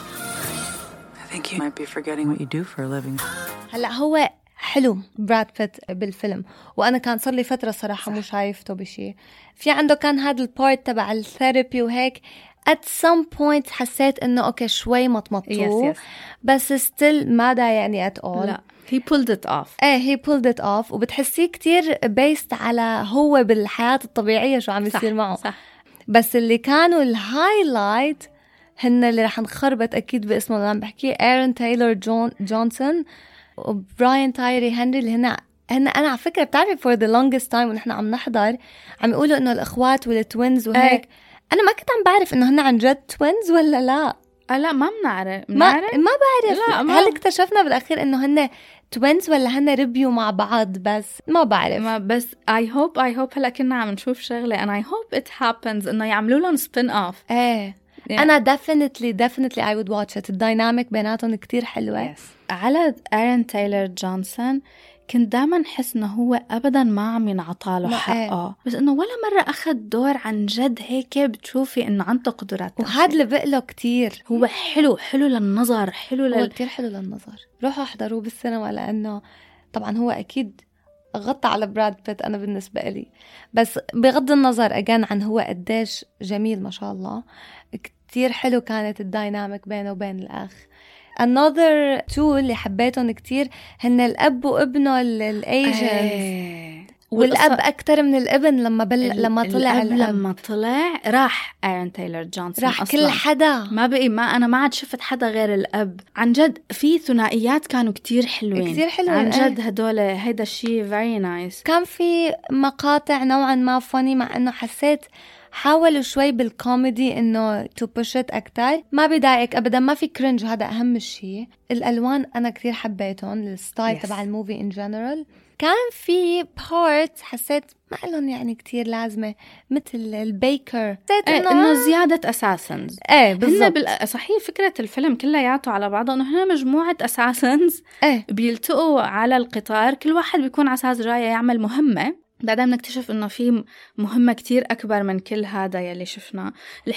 I think you might be forgetting what you do for a living. هلأ هو حلو براد بيت بالفيلم، وأنا كان صار لي فترة صراحة مو شايفته بشي. في عنده كان هذا البارت تبع الثيرابي وهيك. at some point حسيت إنه أوكي شوي مطمطو، بس still ما دا يعني at all. لا he pulled it off. he pulled it off، وبتحسيه كتير based على هو بالحياة الطبيعية شو عم يصير معه. صح. بس اللي كانوا الهايلايت هن اللي رح نخربط أكيد باسمه اللي عم بحكيه، إيرين تايلور جونسون وبراين تايري هنري، اللي هن أنا على فكرة بتعرفي for the longest time ونحن عم نحضر عم يقولوا إنه الإخوات والتوينز وهيك. أنا ما كنت عم بعرف إنه هن عن جد توينز ولا لا. لا ما بنعرف. ما بعرف. هل اكتشفنا بالأخير إنه هن توينز ولا هن ربيوا مع بعض؟ بس ما بعرف. بس I hope هلا كنا عم نشوف شغلة and I hope it happens إنه يعملوا لهم spin off. أنا definitely I would watch it. الديناميك بيناتهم كتير حلوة. على إيرين تايلور جونسون كنت دائما حس إنه هو أبدا ما عم ينعطاله حقه، بس إنه ولا مرة أخذ دور عن جد هيك بتشوفي إنه عنده قدرات. وهذا اللي بقله كتير. هو حلو للنظر، هو كتير حلو للنظر. روحوا احضروه بالسينما، لأنه طبعا هو أكيد غطى على براد بيت أنا بالنسبة لي. بس بغض النظر أجان عن هو قديش جميل ما شاء الله، كتير حلو كانت الدايناميك بينه وبين الأخ. another two اللي حبيتهم كتير هن الأب وابنه الأيجنز. والأب أكتر من الابن لما طلع الأب. لما طلع راح آيرون تايلر جونسون، راح كل حدا، ما بقي أنا ما عاد شفت حدا غير الأب. عن جد في ثنائيات كانوا كتير حلوين، كتير حلوين عن جد. هدول هيدا الشيء very nice. كان في مقاطع نوعا ما فاني، مع إنه حسيت حاولوا شوي بالكوميدي إنه to push it أكتر. ما بيضايقك أبدا، ما في كرنج، هذا أهم شيء. الألوان أنا كتير حبيتهم، الستايل تبع الموفي in general. كان في بارت حسيت ما لهم يعني كتير لازمة، مثل البيكر، حسيت إنه زيادة أساسنز. بالضبط. صحيح فكرة الفيلم كلياته على بعضه إنه هنا مجموعة أساسنز بيلتقوا على القطار، كل واحد بيكون على أساس جاي يعمل مهمة. بعدين بنكتشف إنه في مهمة كتير أكبر من كل هذا يلي شفناه.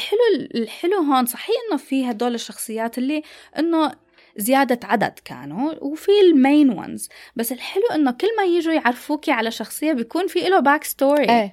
الحلو هون صحيح إنه في هدول الشخصيات اللي إنه زيادة عدد كانوا، وفي المين وانز، بس الحلو إنه كل ما يجوا يعرفوكي على شخصية بيكون في له باك ستوري.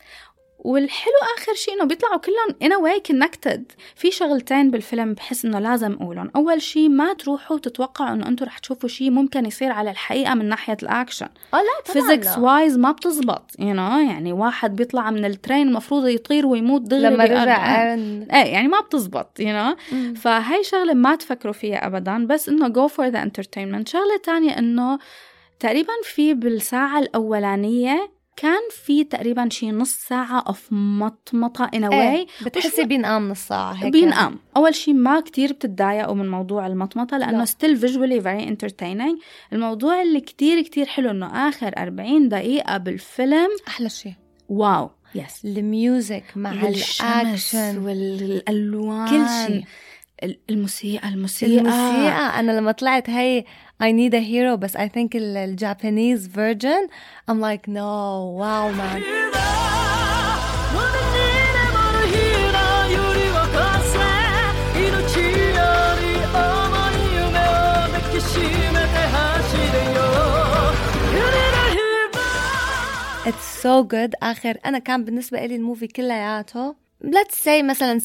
والحلو آخر شيء إنه بيطلعوا كلهم in a way connected. في شغلتين بالفيلم بحس إنه لازم أقولهم. أول شيء ما تروحوا تتوقعوا إنه أنتوا رح تشوفوا شيء ممكن يصير على الحقيقة من ناحية الأكشن. لا فيزيكس وايز ما بتزبط، يعني واحد بيطلع من الترين المفروض يطير ويموت دغري لما رجع يعني ما بتزبط فهاي شغلة ما تفكروا فيها أبدا، بس إنه go for the entertainment. شغلة تانية إنه تقريبا في بالساعة الأولانية كان في تقريبا شي نص ساعة of مطمطة in a way. بتحسي بينقام نص ساعة هيك. بينقام. أول شي ما كتير بتتضايقوا من موضوع المطمطة لأنه still visually very entertaining. الموضوع اللي كتير كتير حلو إنه آخر 40 دقيقة بالفيلم أحلى شي. واو الميوزك مع الأكشن والألوان، كل شي. الموسيقى أنا لما طلعت هاي I need a hero، بس I think الجابانيز version I'm like no wow man. It's so good. آخر أنا كان بالنسبة لي الموفي كلياته let's say مثلا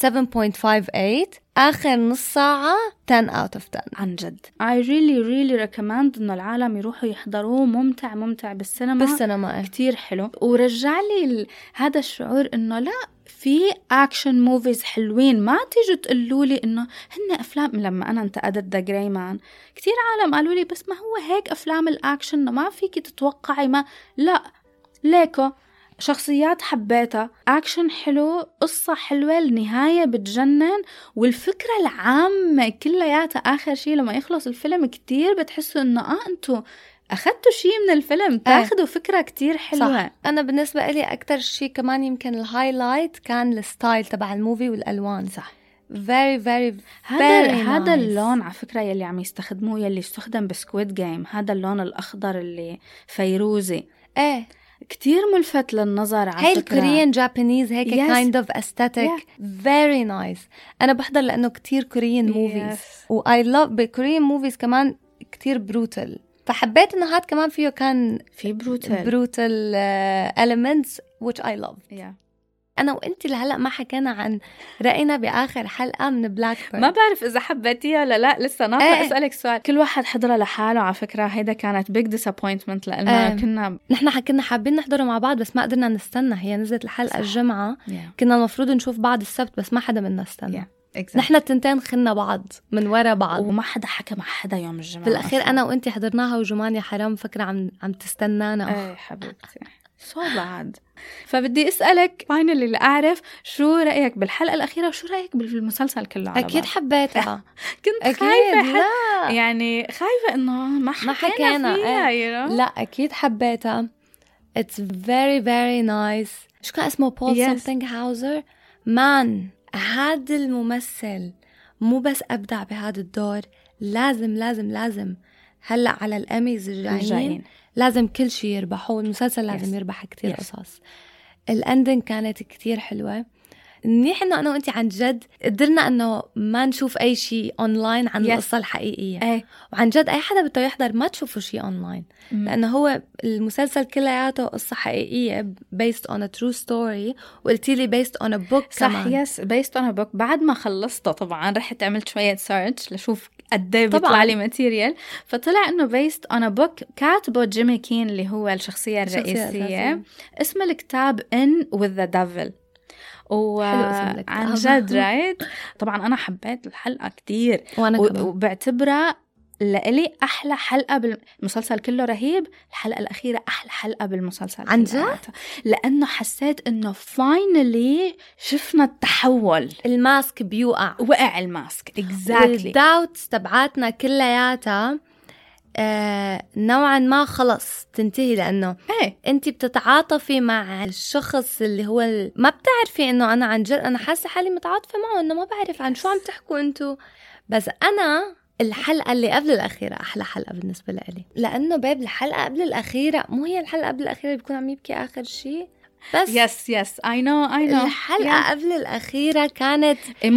7.58. آخر نص ساعة 10 out of 10 عن جد. I really recommend إنه العالم يروحوا يحضروه. ممتع بالسينما. كتير حلو. ورجع لي هذا الشعور إنه لا، في أكشن موفيز حلوين. ما تيجوا تقولوا لي إنه هن أفلام. لما أنا انتقدت The Gray Man كتير عالم قالوا لي بس ما هو هيك أفلام الأكشن ما فيك تتوقعي. ما لا ليكو شخصيات حبيتها، أكشن حلو، قصة حلوة، النهاية بتجنن، والفكرة العامة كلياتها. آخر شيء لما يخلص الفيلم كتير بتحسوا إنه أنتوا أخذتوا شيء من الفيلم، تاخدوا فكرة كتير حلوة. صح. أنا بالنسبة لي أكتر شيء كمان يمكن الهايلايت كان الستايل تبع الموفي والألوان. صح. very هذا اللون على فكرة يلي عم يستخدموه، يلي استخدم بسكويد جيم، هذا اللون الأخضر اللي فيروزي كتير ملفت للنظر. على هاي فكرة الكوريان جابانيز هيك kind of aesthetic very nice. أنا بحضر لأنه كتير كوريان موفيز و I love بالكوريان موفيز كمان كتير بروتل، فحبيت إنه هاد كمان فيه كان في بروتل elements which I love. أنا وإنتي لهلأ ما حكينا عن رأينا بآخر حلقة من بلاك بيرد. ما بعرف إذا حبيتيها ولا لا، لسه ناطرة أسألك سؤال. كل واحد حضرها لحاله على فكرة. هيدا كانت big disappointment لأننا كنا حابين نحضره مع بعض بس ما قدرنا نستنى. هي نزلت الحلقة الجمعة كنا المفروض نشوف بعض السبت بس ما حدا منا استنى. نحن التنتين خلنا بعض من وراء بعض وما حدا حكى مع حدا يوم الجمعة. في الأخير أنا وإنتي حضرناها وجمان يا حرام فكرة عم تستنانا. حبيبتي so bad. فبدي أسألك finally اللي أعرف شو رأيك بالحلقة الأخيرة وشو رأيك بالمسلسل كله على أكيد حبيتها. كنت خايفة يعني خايفة إنه ما حكينا فيها لا أكيد حبيتها. It's very very nice. شو كان اسمه بول something هاوزر مان. هذا الممثل مو بس أبدع بهذا الدور، لازم هلأ على الأميز الجايين لازم كل شيء يربحوا. المسلسل لازم يربح كتير قصص. الاندنج كانت كتير حلوة. منيح إنه أنا وأنتي عن جد قدرنا إنه ما نشوف أي شيء أونلاين عن القصة الحقيقية. وعن جد أي حدا بده يحضر ما تشوفوا شيء أونلاين، لأنه هو المسلسل كلياته قصة حقيقية based on a true story. وقلتي لي based on a book صح كمان. يس based on a book. بعد ما خلصته طبعا رحت عملت شوية سيرش لشوف قديه بيطلع لي ماتيريال، فطلع إنه based on a book كاتبه جيمي كين اللي هو الشخصية الرئيسية. اسم الكتاب In with the Devil. وعن جد رايت طبعا أنا حبيت الحلقة كتير وبعتبرها لإلي أحلى حلقة بالمسلسل كله. رهيب. الحلقة الأخيرة أحلى حلقة بالمسلسل عن جد، لأنه حسيت إنه finally شفنا التحول. الماسك بيوقع، وقع الماسك exactly. والداوتس تبعاتنا كلياتها نوعا ما خلص تنتهي، لأنه أنت بتتعاطفي مع الشخص اللي هو ما بتعرفي إنه أنا عن جد أنا حاسة حالي متعاطفة معه، إنه ما بعرف عن شو عم تحكوا أنتو. بس أنا الحلقة اللي قبل الأخيرة أحلى حلقة بالنسبة لي، لأنه باب الحلقة قبل الأخيرة مو هي الحلقة قبل الأخيرة اللي بيكون عم يبكي آخر شيء. بس yes I know الحلقة قبل الأخيرة كانت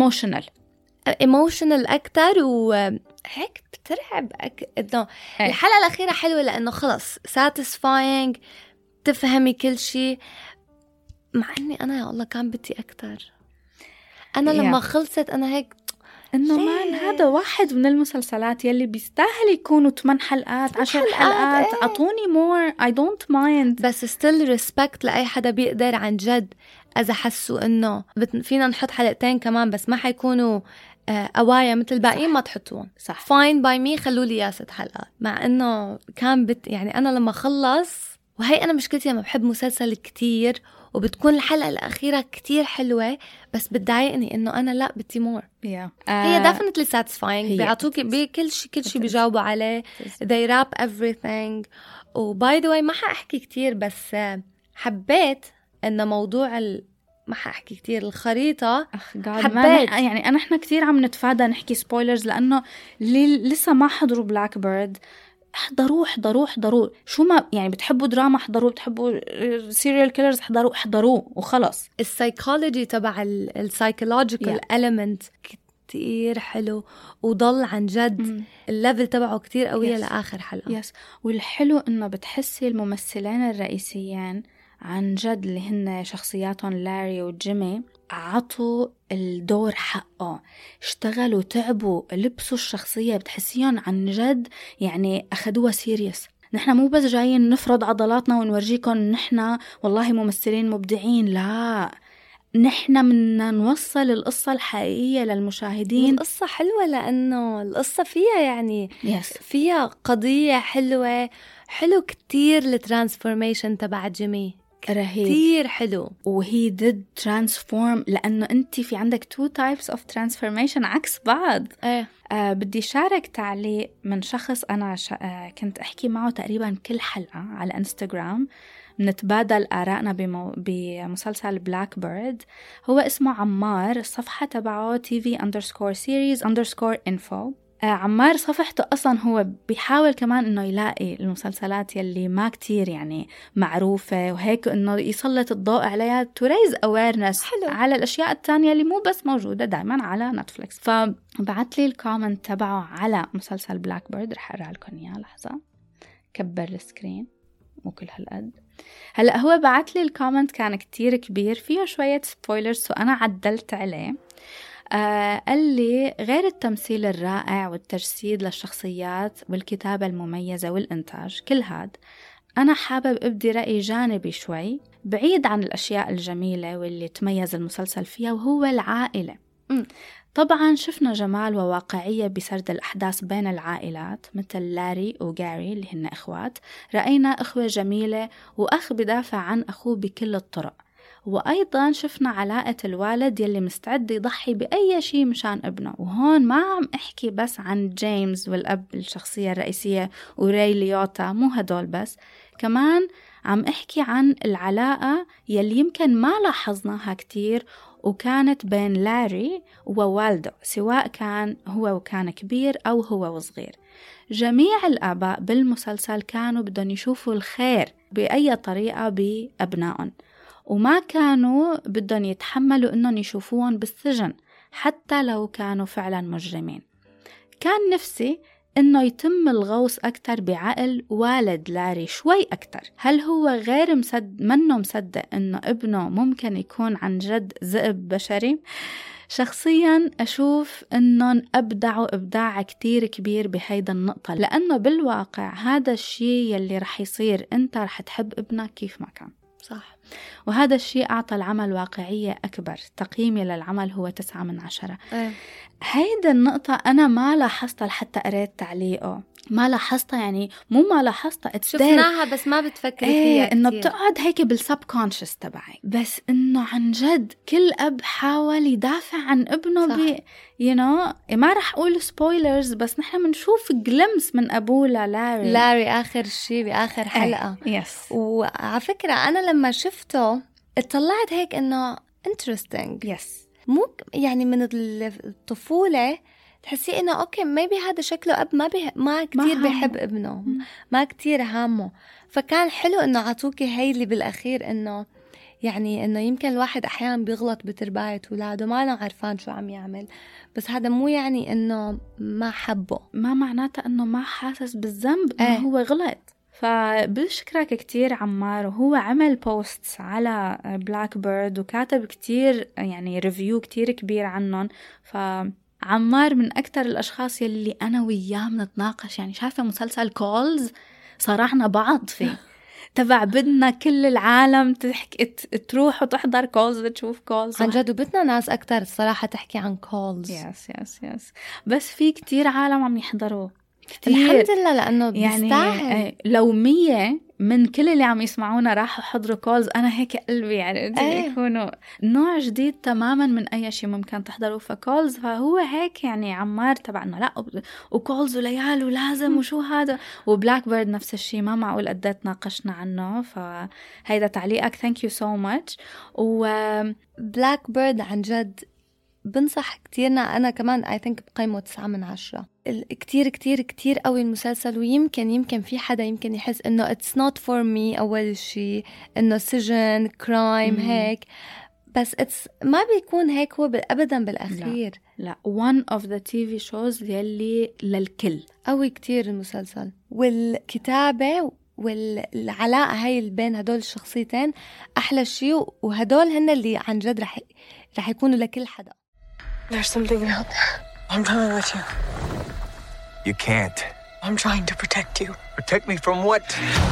emotional أكتر، وهيك بترعب إنه الحلقة الأخيرة حلوة لأنه خلص satisfying، تفهمي كل شيء. مع إني أنا يا الله كان بدي أكتر. أنا لما خلصت أنا هيك إنه مان هذا واحد من المسلسلات يلي بيستاهل يكونوا 8 حلقات 10 حلقات. عطوني more I don't mind. بس still respect لأي حدا بيقدر عن جد. إذا حسوا إنه فينا نحط حلقتين كمان بس ما حيكونوا قوايا مثل الباقيين ما تحطوهم. صح. fine by me، خلوا لي 6 حلقات. مع إنه كان يعني أنا لما خلص، وهي أنا مشكلتي لما بحب مسلسل كتير وبتكون الحلقة الأخيرة كتير حلوة بس بتضايقني إنه أنا لا بدي مور. هي definitely satisfying. بيعطوك بكل شيء بيجاوبوا عليه. they wrap everything. وباي ذا واي ما حأحكي كتير، بس حبيت إنه موضوع ما حأحكي كتير الخريطة. حبيت يعني أنا كتير عم نتفادى نحكي سبويلرز، لأنه لسه ما حضروا بلاك بيرد احضروا شو ما يعني بتحبوا دراما احضروا، بتحبوا سيريال كيلرز احضروه وخلص. السايكولوجي تبع السايكولوجيكال element كتير حلو، وضل عن جد الليفل تبعه كتير قوية لآخر حلقة. والحلو إنه بتحسي الممثلين الرئيسيين عن جد اللي هن شخصياتهم لاري وجيمي عطوا الدور حقه، اشتغلوا تعبوا لبسوا الشخصية، بتحسيهم عن جد يعني أخدوها سيريس. نحن مو بس جايين نفرض عضلاتنا ونورجيكم نحن والله ممثلين مبدعين، لا نحن بدنا نوصل القصة الحقيقية للمشاهدين. القصة حلوة لأنه القصة فيها يعني فيها قضية حلوة. حلو كتير الترانسفورميشن تبع جيمي، رهيب كتير حلو. وهي did transform، لأنه أنت في عندك 2 types of transformation عكس بعض. بدي شارك تعليق من شخص أنا كنت أحكي معه تقريبا كل حلقة على إنستغرام، نتبادل آرائنا بمسلسل بلاك بيرد. هو اسمه عمار، الصفحة تبعه tv_series_info. عمار صفحته أصلا هو بيحاول كمان إنه يلاقي المسلسلات يلي ما كتير يعني معروفة وهيك، إنه يسلط الضوء عليها to raise awareness على الأشياء التانية اللي مو بس موجودة دايما على نتفليكس. فبعت لي الكومنت تبعه على مسلسل بلاك بيرد، رح أقرأ لكم إياه لحظة. كبر السكرين مو كل هالقد. هلأ هو بعت لي الكومنت كان كتير كبير فيه شوية سبويلرز وأنا عدلت عليه. قال لي غير التمثيل الرائع والتجسيد للشخصيات والكتابة المميزة والإنتاج كل هاد، أنا حابب أبدي رأي جانبي شوي بعيد عن الأشياء الجميلة واللي تميز المسلسل فيها، وهو العائلة. طبعا شفنا جمال وواقعية بسرد الأحداث بين العائلات مثل لاري وغاري اللي هن إخوات، رأينا إخوة جميلة وأخ بدافع عن أخوه بكل الطرق، وأيضا شفنا علاقة الوالد يلي مستعد يضحي بأي شيء مشان ابنه. وهون ما عم أحكي بس عن جيمس والأب الشخصية الرئيسية وري ليوتا، مو هدول بس، كمان عم أحكي عن العلاقة يلي يمكن ما لاحظناها كتير وكانت بين لاري ووالده، سواء كان هو وكان كبير أو هو وصغير. جميع الآباء بالمسلسل كانوا بدهم يشوفوا الخير بأي طريقة بأبنائهم، وما كانوا بدهم يتحملوا إنهم يشوفوهم بالسجن حتى لو كانوا فعلا مجرمين. كان نفسي إنه يتم الغوص أكتر بعقل والد لاري شوي أكتر. هل هو غير منه مصدق إنه ابنه ممكن يكون عن جد ذئب بشري؟ شخصياً أشوف إنهم أبدعوا إبداع كتير كبير بهيدا النقطة، لأنه بالواقع هذا الشيء يلي رح يصير، أنت رح تحب ابنك كيف ما كان. صح. وهذا الشيء أعطى العمل واقعية أكبر. تقييمي للعمل هو 9/10. هيدا النقطة أنا ما لاحظتها لحتى قريت تعليقه، ما لاحظتها، يعني مو ما لاحظتها، شفناها بس ما بتفكري فيها إنه بتقعد هيك بالسبكونشس تبعي. بس إنه عن جد كل أب حاول يدافع عن ابنه ما رح أقول سبويلرز، بس نحن منشوف جلمس من أبوه لاري آخر شيء بآخر حلقة. يس. وعلى فكرة أنا لما شفته اطلعت هيك إنه interesting. يس. مو يعني من الطفولة تحسي إنه أوكي ميبي هذا شكله أب ما كتير بيحب ابنه، ما كتير هامه. فكان حلو إنه عطوكي هاي اللي بالأخير، إنه يعني إنه يمكن الواحد أحيانا بيغلط بترباية ولاده ما أنا عارفان شو عم يعمل، بس هذا مو يعني إنه ما حبه، ما معناته إنه ما حاسس بالذنب إنه هو غلط. فبشكرك كتير عمار. وهو عمل بوستس على بلاك بيرد وكاتب كتير يعني ريفيو كتير كبير عنهم. فعمار من أكتر الأشخاص يلي أنا وياه منتناقش. يعني شايفة مسلسل كولز صارعنا بعض فيه تبع بدنا كل العالم تروح وتحضر كولز تشوف كولز عن جد، وبدنا ناس أكتر الصراحة تحكي عن كولز. يس. بس في كتير عالم عم يحضروه كتير. الحمد لله، لأنه بيستاهل. يعني لو 100 من كل اللي عم يسمعونا راحوا حضروا كولز، أنا هيك قلبي يعني يكونوا نوع جديد تماما من أي شيء ممكن تحضروا فكولز. فهو هيك يعني عمار تبعنا لا وكولز وليال ولازم وشو هذا. وبلاك بيرد نفس الشيء، ما معقول قدت ناقشنا عنه. فهيدا تعليقك thank you so much. وبلاك بيرد عن جد بنصح كتيرنا. أنا كمان I think بقيمه 9/10. كتير كتير كتير قوي المسلسل. ويمكن في حدا يمكن يحس إنه it's not for me أول شيء، إنه سجن كرايم هيك، بس ما بيكون هيك هو أبدا بالأخير. لا one of the TV shows يلي للكل. قوي كتير المسلسل، والكتابة والعلاقة هاي بين هدول الشخصيتين أحلى شيء. وهدول هن اللي عن جد رح يكونوا لكل حدا. There's something out there. I'm coming with you. You can't. I'm trying to protect you. Protect me from what?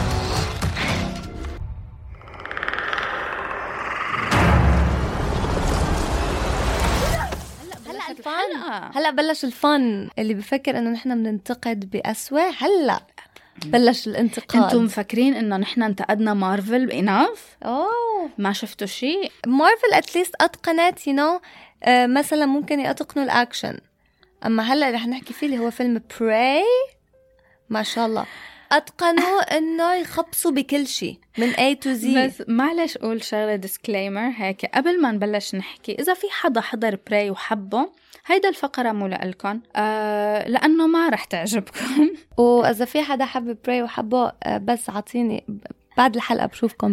هلا بلش الفن اللي بفكر انه نحن بننتقد بأسوأ. هلا بلش الانتقاد. انتم مفكرين انه نحن انتقدنا مارفل بإناف؟ ما شفتوا شيء. مارفل اتليست اتقنت مثلا ممكن يتقنوا الاكشن، اما هلا رح نحكي فيه اللي هو فيلم براي ما شاء الله اتقنوا انه يخبصوا بكل شيء من A to Z. بس معلش اقول شغله ديسكليمر هيك قبل ما نبلش نحكي، اذا في حدا حضر براي وحبه هيدا الفقره مو لكم لانه ما رح تعجبكم. واذا في حدا حب براي وحبه بس عطيني بعد الحلقه بشوفكم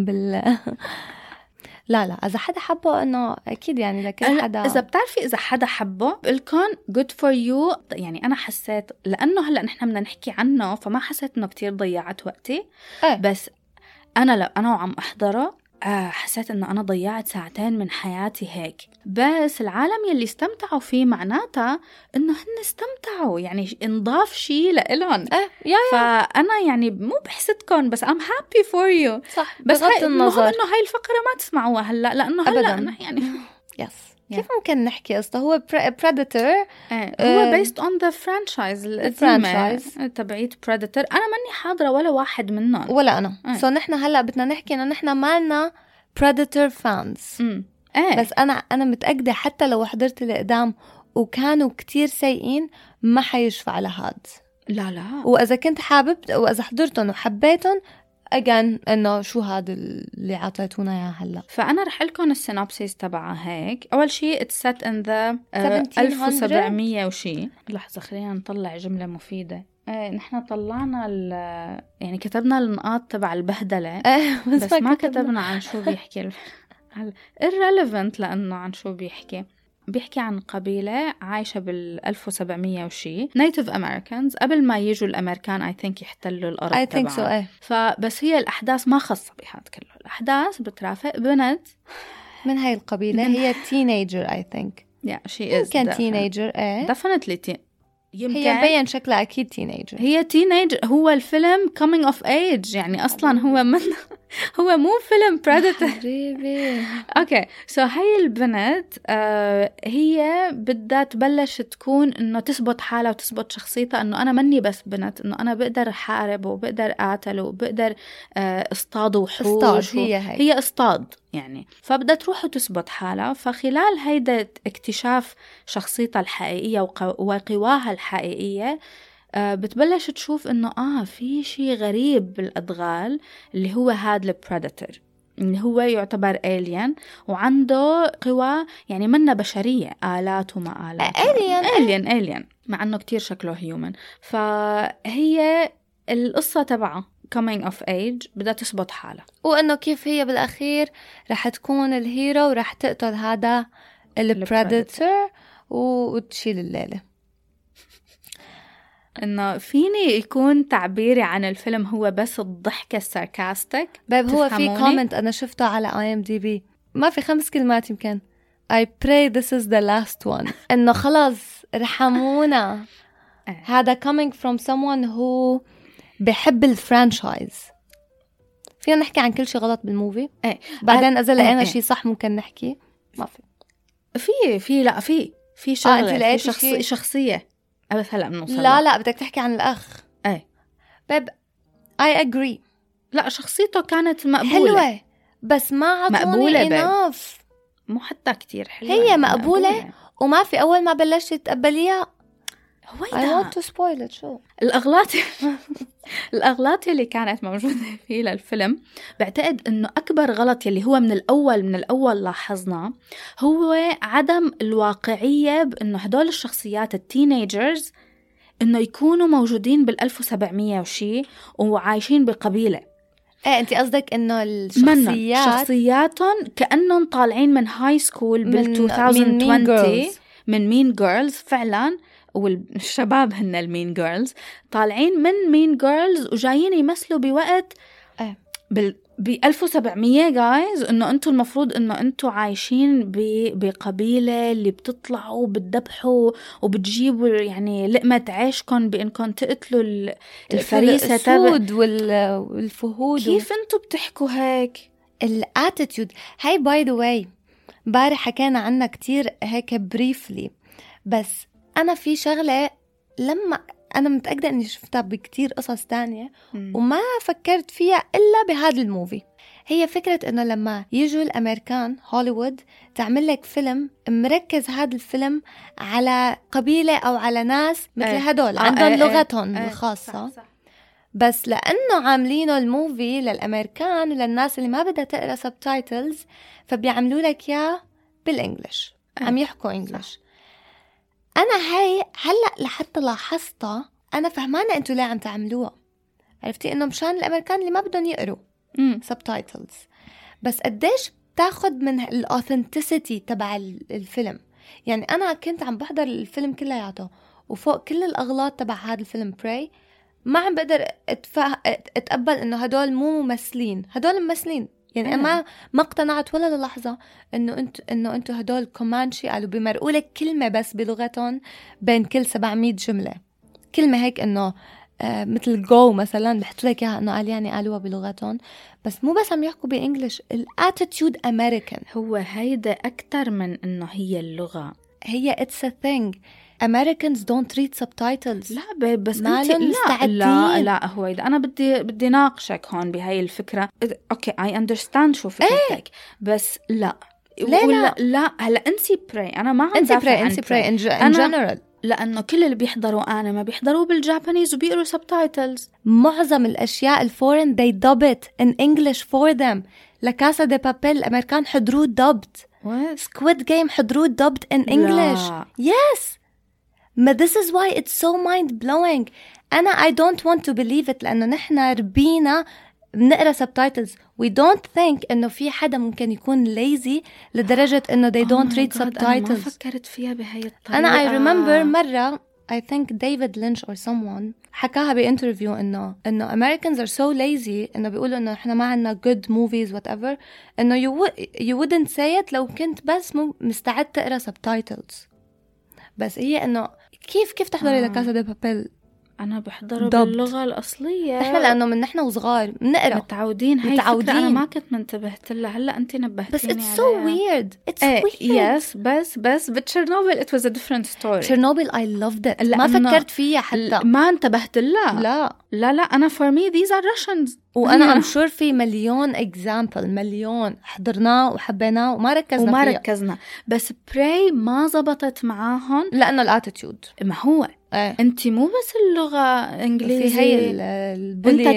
لا اذا حدا حبه انه اكيد يعني لكل حدا. اذا بتعرفي اذا حدا حبه بقولكم good for you. يعني انا حسيت لانه هلا نحن بدنا نحكي عنه فما حسيت انه كتير ضيعت وقتي. بس انا وعم احضره حسيت انه انا ضيعت 2 ساعة من حياتي هيك. بس العالم يلي استمتعوا فيه معناتها انه هن استمتعوا، يعني انضاف شيء لإلهم. فانا يعني مو بحسدكم بس I'm happy for you. صح. بس بغض النظر انه هاي الفقرة ما تسمعوها هلا لانه هلا يعني يس كيف ممكن نحكي قصته هو Predator. هو based on the franchise القديمة تبعيت Predator. أنا ماني حاضرة ولا واحد منهم ولا أنا. نحن هلأ بدنا نحكي إنه نحن مالنا Predator fans. بس أنا متأكدة حتى لو حضرت القدام وكانوا كتير سيئين ما حيشفع لهاد. لا وإذا كنت حابب وإذا حضرتهم وحبيتهم أجان إنه شو هذا اللي عطيتونا إياه هلا. فأنا رح لكم السينوبسيس تبعها هيك. أول شيء it's set in the 1700 وشي. لحظة خلينا نطلع جملة مفيدة. نحن طلعنا يعني كتبنا النقاط تبع البهدلة بس ما كتبنا عن شو بيحكي irrelevant لأنه عن شو بيحكي عن قبيلة عايشة بال1700 وشي Native Americans قبل ما يجوا الأمريكان I think يحتلوا الأرض تبعهم. فبس هي الأحداث ما خاصة بهذا كله. الأحداث بترافق بنت من هاي القبيلة هي teenager I think كان teenager definitely هي مبين شكلها أكيد teenager. هي teenager. هو الفيلم coming of age يعني أصلا هو مو فيلم predator. أوكي هاي البنت هي بدها تبلش تكون إنه تثبت حالها وتثبت شخصيتها إنه أنا مني بس بنت، إنه أنا بقدر حارب وبقدر قاتل وبقدر اصطاد وحوش. هي اصطاد يعني. فبدها تروح وتثبت حالها. فخلال هيدا اكتشاف شخصيتها الحقيقية وقواها الحقيقية بتبلش تشوف إنه في شيء غريب بالأدغال اللي هو هذا البريداتور اللي هو يعتبر alien وعنده قوى يعني منها بشرية، آلات وما آلات. alien مع أنه كتير شكله human. فهي القصة تبعه coming of age بدها تثبت حالها وإنه كيف هي بالأخير رح تكون الهيرو ورح تقتل هذا البريداتور وتشيل الليلة. إنه فيني يكون تعبيري عن الفيلم هو بس الضحكة الساركاستيك. باب هو في كومنت أنا شفته على IMDb ما في 5 كلمات يمكن I pray this is the last one إنه خلاص رحمونا. هذا coming from someone who بحب الفرانشايز. فينا نحكي عن كل شيء غلط بالموفي بعدين إذا لقينا شيء صح ممكن نحكي. ما في شغلة في شخصية بس هلأ بنوصل. لا بدك تحكي عن الأخ. باب I agree. لا شخصيته كانت مقبولة حلوة بس ما عطوني enough. مو حتى كتير حلوة. هي مقبولة وما في أول ما بلشت تقبليها I want to spoil it. شو الأغلاط اللي كانت موجودة فيه للفيلم. بعتقد إنه أكبر غلط يلي هو من الأول لاحظنا هو عدم الواقعية بإنه هدول الشخصيات التينيجرز إنه يكونوا موجودين بال1700 وشي وعايشين بقبيلة. أنت قصدك إنه شخصياتهم كأنهم طالعين من هاي سكول بال2020 من مين جيرلز فعلاً. والشباب هن المين جيرلز طالعين من مين جيرلز وجايين يمثلوا بوقت ب1700 جايز إنه أنتوا المفروض إنه أنتوا عايشين بقبيلة اللي بتطلعوا وبتذبحوا وبتجيبوا يعني لقمة عيشكم بإنكم تقتلوا الفريسة السود والفهود. كيف أنتوا بتحكوا هيك؟ الاتيتيود هاي باي ذا واي بارح حكينا عنها كتير هيك بريفلي. بس أنا في شغلة لما أنا متأكدة أني شفتها بكتير قصص تانية وما فكرت فيها إلا بهذا الموفي. هي فكرة أنه لما يجوا الأمريكان هوليوود تعمل لك فيلم مركز هذا الفيلم على قبيلة أو على ناس مثل هدول عندهم لغتهم الخاصة. صح. بس لأنه عاملينه الموفي للأمريكان وللناس اللي ما بدها تقرأ سبتايتلز فبيعملوا لك يا بالإنجليش عم يحكوا إنجليش. أنا هاي هلأ لحتى لاحظتها أنا فهمانة أنتوا ليه عم تعملوها. عرفتي إنه مشان الأمريكان اللي ما بدهم يقروا سبتايتلز. بس قديش بتاخد من الأوثنتيسيتي تبع الفيلم. يعني أنا كنت عم بحضر الفيلم كلياته وفوق كل الأغلاط تبع هذا الفيلم براي ما عم بقدر أتقبل إنه هدول مو ممثلين. هدول ممثلين يعني أنا ما اقتنعت ولا للحظة إنه أنتوا هدول كومانشي قالوا بيمرقوا لك كلمة بس بلغتهم بين كل 700 جملة كلمة هيك إنه مثل جو مثلا بحطوا لك إياها إنه قال يعني قالوها بلغتهم بس مو بس عم يحكوا بإنجليش. الاتيتيود أمريكان هو هيدا أكتر من إنه هي اللغة. هي it's a thing. Americans don't read subtitles. لا بس لا هو إذا أنا بدي ناقشك هون بهاي الفكرة. أوكي I understand شو فكرتك بس لا هلا انسي براي. أنا ما عم دافع عن براي in general لأنه كل اللي بيحضروا أنا ما بيحضروا بالجابانيز وبيقروا subtitles. معظم الأشياء الفورن they dub it in English for them. لكاسا دي بابيل الأمريكان حضروه dubbed. Squid Game حضروه dubbed in English. Yes. ما this is why it's so mind blowing. أنا I don't want to believe it لأنه نحن ربينا بنقرا subtitles. we don't think إنه في حدا ممكن يكون lazy لدرجة إنه they don't read subtitles. أنا ما فكرت فيها بهاي الطريقة. أنا I remember مرة I think David Lynch or someone حكاها بانترفيو إنه Americans are so lazy إنه بيقولوا إنه إحنا ما عنا good movies whatever إنه you wouldn't say it لو كنت بس مستعد تقرا subtitles. بس هي إنه كيف تحضري لكاسا دي بابيل؟ أنا بحضره باللغة الأصلية. إحنا لأنه من نحن وصغار بنقرأ متعودين. هاي فكرة أنا ما كنت منتبهت لها، هلا أنت نبهتيني عليها. بس it's so weird. It's weird. Yes بس بتشيرنوبل it was a different story. تشيرنوبل I loved it. ما فكرت فيها حتى. ما انتبهت لها. لا أنا for me these are Russians. وأنا I'm sure في مليون example مليون حضرناه وحبيناه وما ركزنا بس براي ما زبطت معاهم لأنه الاتيتيود. ما هو انت مو بس اللغة انجليزي، في هي انت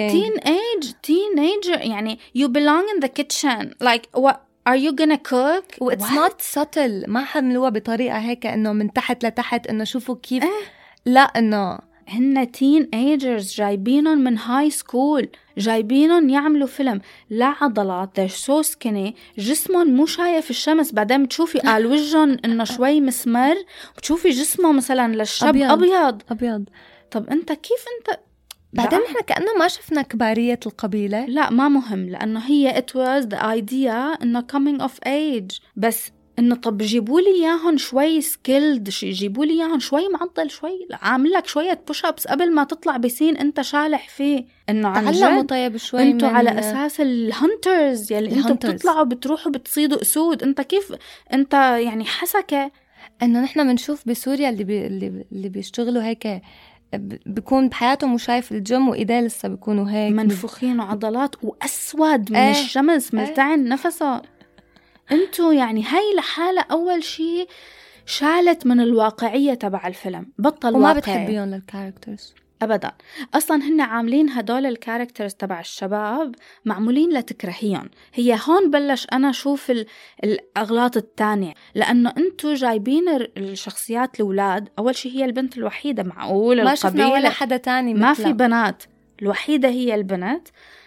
teenager يعني you belong in the kitchen like what are you gonna cook. It's not subtle. ما حملوها بطريقة هيك انه من تحت لتحت انه شوفوا كيف لا انه هن teenagers جايبينهم من هاي سكول، جايبينهم يعملوا فيلم لا عضلات، they're so skinny، جسمهم مو شايف الشمس، بعدين بتشوفي قال وجههم انه شوي مسمر، بتشوفي جسمه مثلا للشاب أبيض. طب انت كيف انت بعدين احنا كأنه ما شفنا كبارية القبيلة. لا ما مهم، لأنه هي it was the idea انه coming of age، بس انه طب جيبوا لي اياهم شوي سكيلد، جيبوا لي اياهم شوي معضل، شوي عامل لك شويه بوش ابس قبل ما تطلع بسين انت شالح فيه، انه عن جد طيب شوي انتوا على اساس الهانترز يلي انتوا بتطلعوا بتروحوا بتصيدوا اسود، انت كيف انت يعني حسكه انه نحن بنشوف بسوريا اللي بيشتغلوا هيك بيكون بحياتهم وشايف الجيم وإيديه لسه بيكونوا هيك منفوخين وعضلات واسود من الشمس ملتعن نفسه. انتو يعني هاي لحالة أول شيء شالت من الواقعية تبع الفيلم، بطل وما واقعي. بتحبيهم للكاركترز أبدا، أصلا هن عاملين هدول الكاركترز تبع الشباب معمولين لتكرهيهم. هي هون بلش أنا أشوف الأغلاط التانية، لأنه أنتو جايبين الشخصيات الأولاد. أول شيء هي البنت الوحيدة، معقول ما شفنا ولا حدا تاني ما في بنات، الوحيدة هي البنت،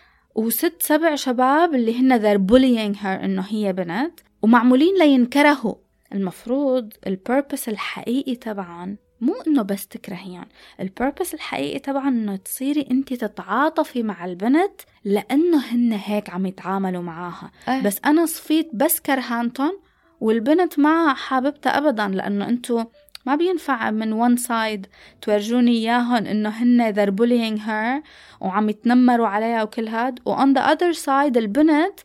و6-7 شباب اللي هن they're bullying her إنه هي بنت، ومعمولين لينكرهوا. المفروض البيربس الحقيقي طبعا مو إنه بس تكرهيان، البيربس الحقيقي طبعا إنه تصيري أنت تتعاطفي مع البنت لأنه هن هيك عم يتعاملوا معاها. بس أنا صفيت بس كرهانتون والبنت ما حاببتها أبدا، لأنه أنتوا ما بينفع من one side تورجوني إياهن إنه هن they're bullying her وعم يتنمروا عليها وكل هاد، و on the other side البنت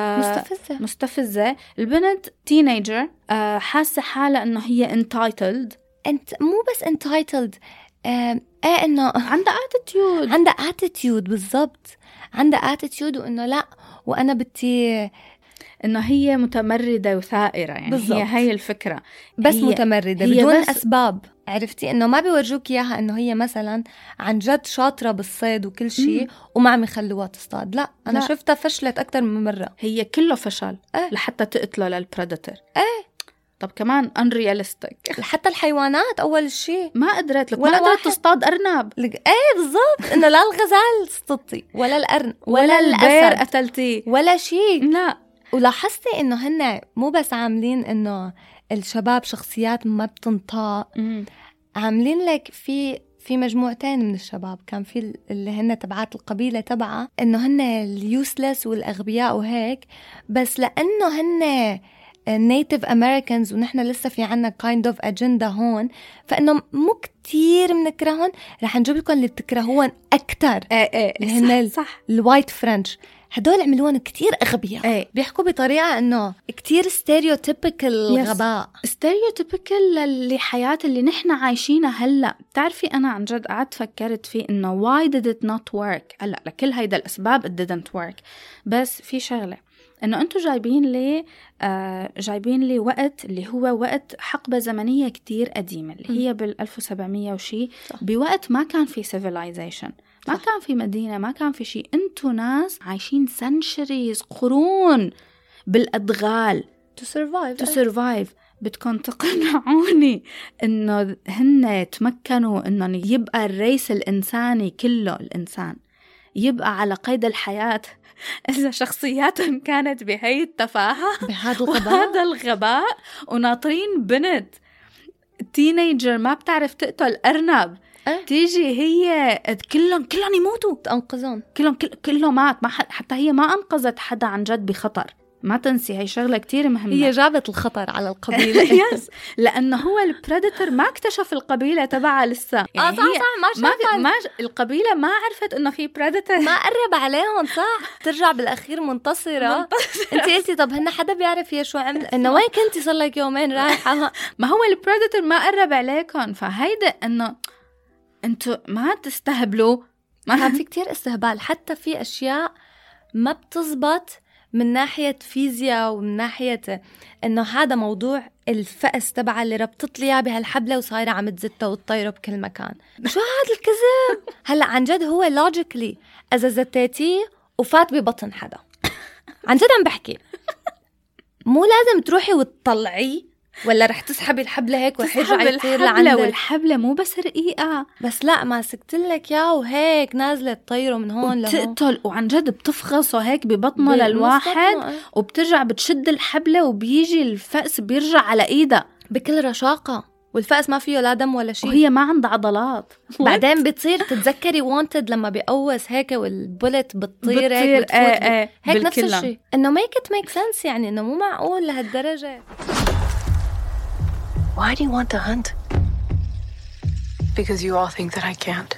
مستفزة. البنت teenager حاسة حالة إنه هي entitled. أنت مو بس entitled إنه عندها attitude بالضبط، عندها attitude وإنه لا وأنا بدي إنه هي متمردة وثائرة يعني بالزبط. هي الفكرة بس متمردة بدون أسباب. عرفتي إنه ما بيورجوك إياها إنه هي مثلا عن جد شاطرة بالصيد وكل شيء وما عم يخلوها تصطاد. لا أنا شفتها فشلت أكتر من مرة، هي كله فشل لحتى تقتله للبريدتور. طب كمان unrealistic. حتى الحيوانات أول شيء ما قدرت لك، ما قدرت تصطاد أرنب. بالضبط، إنه لا الغزال صطتي ولا الأرنب ولا البير قتلتي ولا شيء. لا. ولاحظتي إنه هن مو بس عاملين إنه الشباب شخصيات ما بتنطاق، عاملين لك في مجموعتين من الشباب، كان في اللي هن تبعات القبيلة تبعها إنه هن اليوسلس والأغبياء وهيك، بس لأنه هن native Americans ونحن لسه في عنا kind of agenda هون، فإنه مو كتير منكرهون، رح نجيب لكم اللي بتكرهون أكتر. اللي هن الوايت فرنش، هدول عملوهم كتير أغبياء. بيحكوا بطريقة إنه كتير stereotypical غباء، stereotypical للحياة اللي نحن عايشينها هلأ. بتعرفي أنا عن جد قعدت فكرت فيه إنه why did it not work. هلأ لكل هيدا الأسباب it didn't work، بس في شغلة إنه أنتوا جايبين لي وقت اللي هو وقت حقبة زمنية كتير قديمة اللي هي بال1700 وشي، بوقت ما كان في civilization، ما كان في مدينة، ما كان في شيء. أنتوا ناس عايشين centuries قرون بالأدغال to survive. بدكم تقنعوني إنه هن تمكنوا إنه يبقى الريس الإنساني كله الإنسان يبقى على قيد الحياة إذا شخصياتهم كانت بهي التفاهة بهذا الغباء وناطرين بنت تينيجر ما بتعرف تقتل أرنب تيجي هي كلهم يموتوا تنقذهم، كله مات، ما حتى هي ما أنقذت حدا عن جد بخطر. ما تنسي هي شغلة كتير مهمة، هي جابت الخطر على القبيلة. يس، لأنه هو البريدتر ما اكتشف القبيلة تبعها لسه، يعني صح ما القبيلة ما عرفت إنه في بريدتر، ما قرب عليهم. صح، ترجع بالأخير منتصرة. انت قلتي طب هن حدا بيعرف هي شو عمل، إنه وين كنتي صار لك يومين رايحة. ما هو البريدتر ما قرب عليكم، فهيدا إنه انتوا ما تستهبلوا. كان في كتير استهبال، حتى في أشياء ما بتزبط من ناحية فيزياء ومن ناحية إنه هذا موضوع الفأس تبع اللي ربطت لي بهالحبلة وصايرة عم تزتها وتطيره بكل مكان. شو هذا الكذب؟ هلأ عن جد هو لوجيكلي إذا زتيتيه وفات ببطن حدا، عن جد عم بحكي، مو لازم تروحي وتطلعيه، ولا رح تسحبي الحبلة هيك ورح يطير لعندك. والحبلة مو بس رقيقة، بس لا ماسكتلك يا وهيك نازلة تطيره من هون لهون، بتقتل وعن جد بتفغصه هيك ببطنه للواحد، وبترجع بتشد الحبلة وبيجي الفأس بيرجع على إيدها بكل رشاقة، والفأس ما فيه لا دم ولا شيء، وهي ما عندها عضلات. بعدين بتصير تتذكري وانتد لما بيقوس هيك والبولت بتطير هيك هيك نفس الشيء. إنه make it make sense، يعني إنه مو معقول لهالدرجة. Why do you want to hunt? Because you all think that I can't.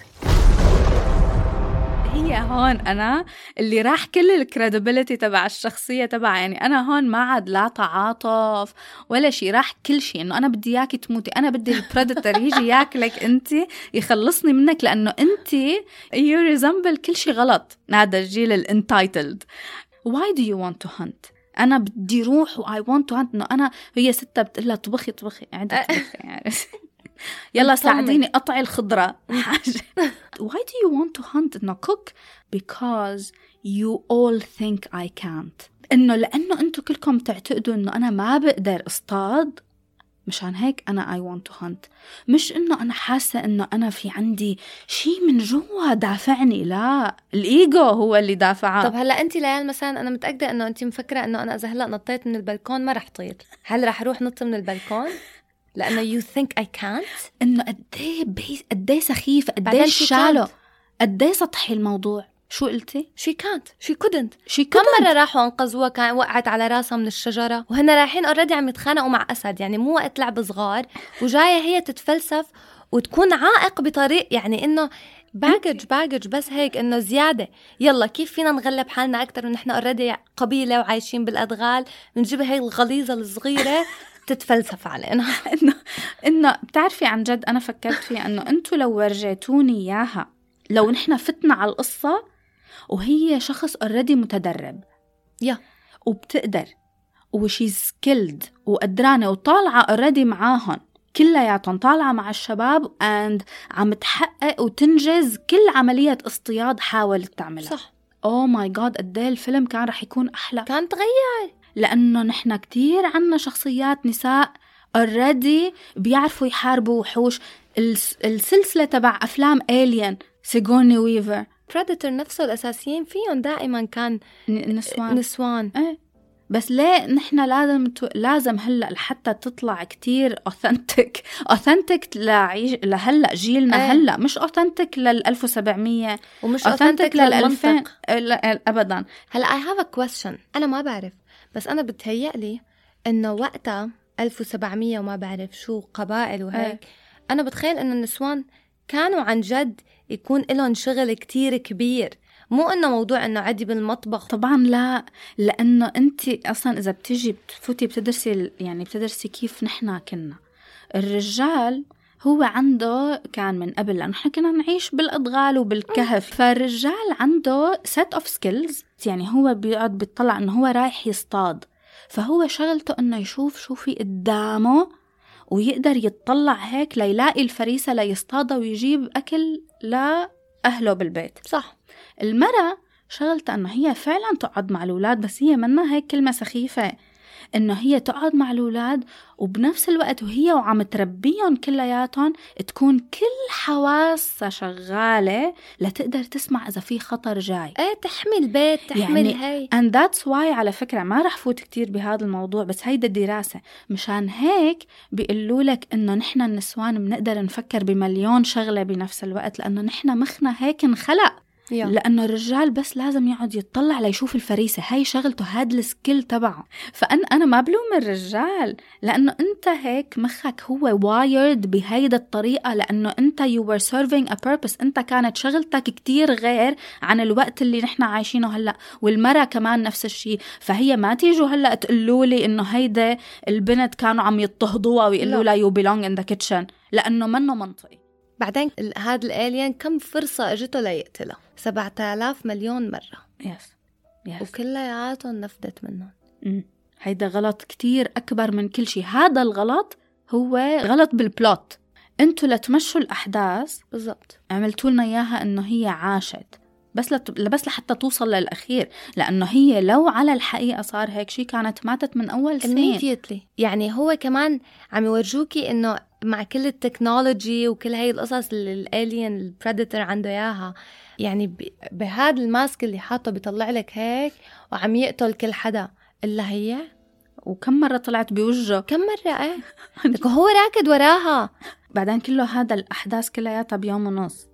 هي هون أنا اللي راح كل الكريديبيليتي تبع الشخصية تبع، يعني أنا هون ما عاد لا تعاطف ولا شيء، راح كل شيء إنه أنا بدي إياكي تموتي، أنا بدي البريدتر يجي ياكلك أنت، يخلصني منك، لأنه أنت you resemble كل شيء غلط. هذا الجيل الانتايتلد. Why do you want to hunt؟ أنا بدي روح I want to hunt. إنه أنا هي ستة بتقلها طبخي عندها طبخي يعني يلا ساعديني قطعي الخضرة. Why do you want to hunt؟ إنه cook because you all think I can't. إنه لأنه أنتوا كلكم تعتقدوا إنه أنا ما بقدر أصطاد، مشان هيك أنا I want to hunt. مش إنه أنا حاسة إنه أنا في عندي شيء من جوا دافعني، لا، الإيجو هو اللي دافعه. طب هلأ أنت ليال مثلا، أنا متأكدة إنه أنت مفكرة إنه أنا إذا هلأ نطيت من البلكون ما رح طير، هل رح أروح نط من البلكون؟ لأنه you think I can't. إنه قديه سخيف، قديه شالو، قديه سطحي الموضوع. شو قلتي؟ she can't, she couldn't. كم مرة راحوا انقذوها كان وقعت على راسها من الشجرة، وهن رايحين already عم يتخانقوا مع أسد، يعني مو وقت لعب صغار، وجاية هي تتفلسف وتكون عائق بطريق، يعني إنه باجج بس هيك إنه زيادة. يلا كيف فينا نغلب حالنا أكتر ونحن already قبيلة وعايشين بالأدغال، ونجيبها هي الغليظة الصغيرة تتفلسف علينا. إنه بتعرفي عن جد أنا فكرت فيها إنه أنتوا لو ورجيتوني إياها، لو نحن فتنا على القصة وهي شخص already متدرب وبتقدر وشي سكيلد وقدرانة وطالعة already معاهن كلياتهم، طالعة مع الشباب and عم تحقق وتنجز كل عملية اصطياد حاولت تعملها. صح. oh my god، قديه الفيلم كان رح يكون أحلى، كان تغير، لأنه نحن كتير عنا شخصيات نساء already بيعرفوا يحاربوا وحوش. السلسلة تبع أفلام Alien، سيغوني ويفر، Predator نفسه الأساسيين فيهم دائما كان نسوان. بس ليه نحن لازم هلأ لحتى تطلع كتير أوثنتك لهلأ جيلنا هلأ، مش أوثنتك لل1700 ومش أوثنتك لل2000 أبدا. هلأ I have a question، أنا ما بعرف، بس أنا بتهيألي إنه وقتها 1700 وما بعرف شو قبائل وهيك، أنا بتخيل إنه النسوان كانوا عن جد يكون لهم شغل كتير كبير، مو إنه موضوع إنه عادي بالمطبخ. طبعا لا، لأنه أنت أصلا إذا بتيجي بتفوتي بتدرسي كيف نحنا كنا. الرجال هو عنده كان من قبل، لأنه نحن كنا نعيش بالأدغال وبالكهف، فالرجال عنده set of skills، يعني هو بيقعد بيطلع إنه هو رايح يصطاد، فهو شغلته إنه يشوف شو في قدامه ويقدر يتطلع هيك ليلاقي الفريسة ليصطادها ويجيب أكل لأهله بالبيت. صح. المرأة شغلتها أنه هي فعلا تقعد مع الأولاد، بس هي منها هيك كلمة سخيفة، إنه هي تقعد مع الأولاد وبنفس الوقت وهي وعم تربيهم كلياتهم تكون كل حواسها شغالة لتقدر تسمع إذا في خطر جاي. تحمي البيت، تحمي هاي. and that's why على فكرة ما رح فوت كتير بهذا الموضوع، بس هيدا الدراسة مشان هيك بيقولوا لك إنه نحن النسوان بنقدر نفكر بمليون شغلة بنفس الوقت، لأنه نحن مخنا هيك انخلق. لأنه الرجال بس لازم يقعد يتطلع ليشوف الفريسة، هاي شغلته، هاد السكيل تبعه. فأنا ما بلوم الرجال، لأنه أنت هيك مخك هو wired بهيدا الطريقة، لأنه أنت you were serving a purpose. أنت كانت شغلتك كتير غير عن الوقت اللي نحن عايشينه هلأ، والمرأة كمان نفس الشيء. فهي ما تيجوا هلأ تقولولي إنه هيدا البنت كانوا عم يضطهدوها ويقولوا لها you belong in the kitchen، لأنه منه منطقي. بعدين هذا الالين كم فرصة اجته ليقتلها؟ 7,000 مليون مرة. يس. وكلياتهم نفدت منهم. هيدا غلط كتير أكبر من كل شيء. هذا الغلط هو غلط بالبلوت. انتوا لتمشوا الأحداث بالضبط عملتوا لنا إياها إنه هي عاشت بس لحتى توصل للأخير، لأنه هي لو على الحقيقة صار هيك شيء كانت ماتت من أول سنين. يعني هو كمان عم يورجوكي إنه مع كل التكنولوجي وكل هاي القصص اللي الالين البريدتر عنده اياها، يعني بهذا الماسك اللي حاطه بيطلع لك هيك وعم يقتل كل حدا إلا هي. وكم مرة طلعت بوجهه، كم مرة هو راكد وراها. بعدين كله هذا الأحداث كلياتها بيوم ونص.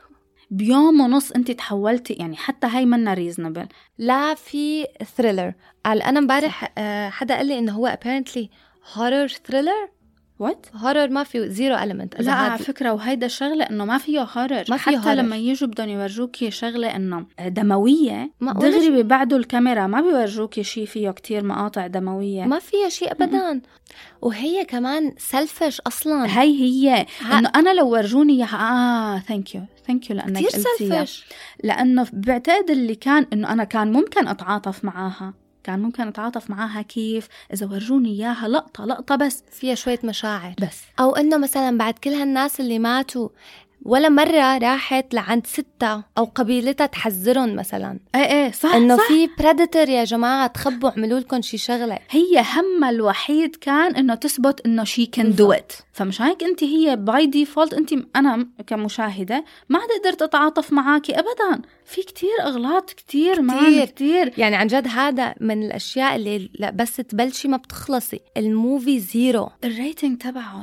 بيوم ونص انت تحولتي، يعني حتى هاي منا ريزنبل. لا في ثريلر. أنا امبارح حدا قال لي إنه هو apparently horror thriller. هورر ما فيه زيرو element. لا على فكرة، وهيدا الشغلة إنه ما فيه هورر. حتى هورر. لما يجوا بدهم يورجوكي شغلة إنه دموية دغري ببعدوا الكاميرا، ما بيورجوكي شيء فيه كتير مقاطع دموية، ما فيه شيء أبدا. وهي كمان سلفش أصلا. هي إنه أنا لو ورجوني ثانك يو لأنك قلتيها، لأنه بعتقد اللي كان إنه أنا كان ممكن أتعاطف معاها كيف إذا ورجوني إياها لقطة بس فيها شوية مشاعر بس. أو إنه مثلا بعد كل هالناس اللي ماتوا ولا مرة راحت لعند ستة أو قبيلتها تحذرهم مثلا. صح، إنه في بريدتر يا جماعة، تخبوا اعملوا لكم شي شغلة. هي همها الوحيد كان إنه تثبت إنه she can do it. فمش هيك أنت هي باي ديفولت أنا كمشاهدة ما قدرت تتعاطف معاكي أبدا. في كتير أغلاط كتير. يعني عن جد هذا من الأشياء اللي لا بس تبلشي ما بتخلصي. الموفي زيرو. الريتنج تبعه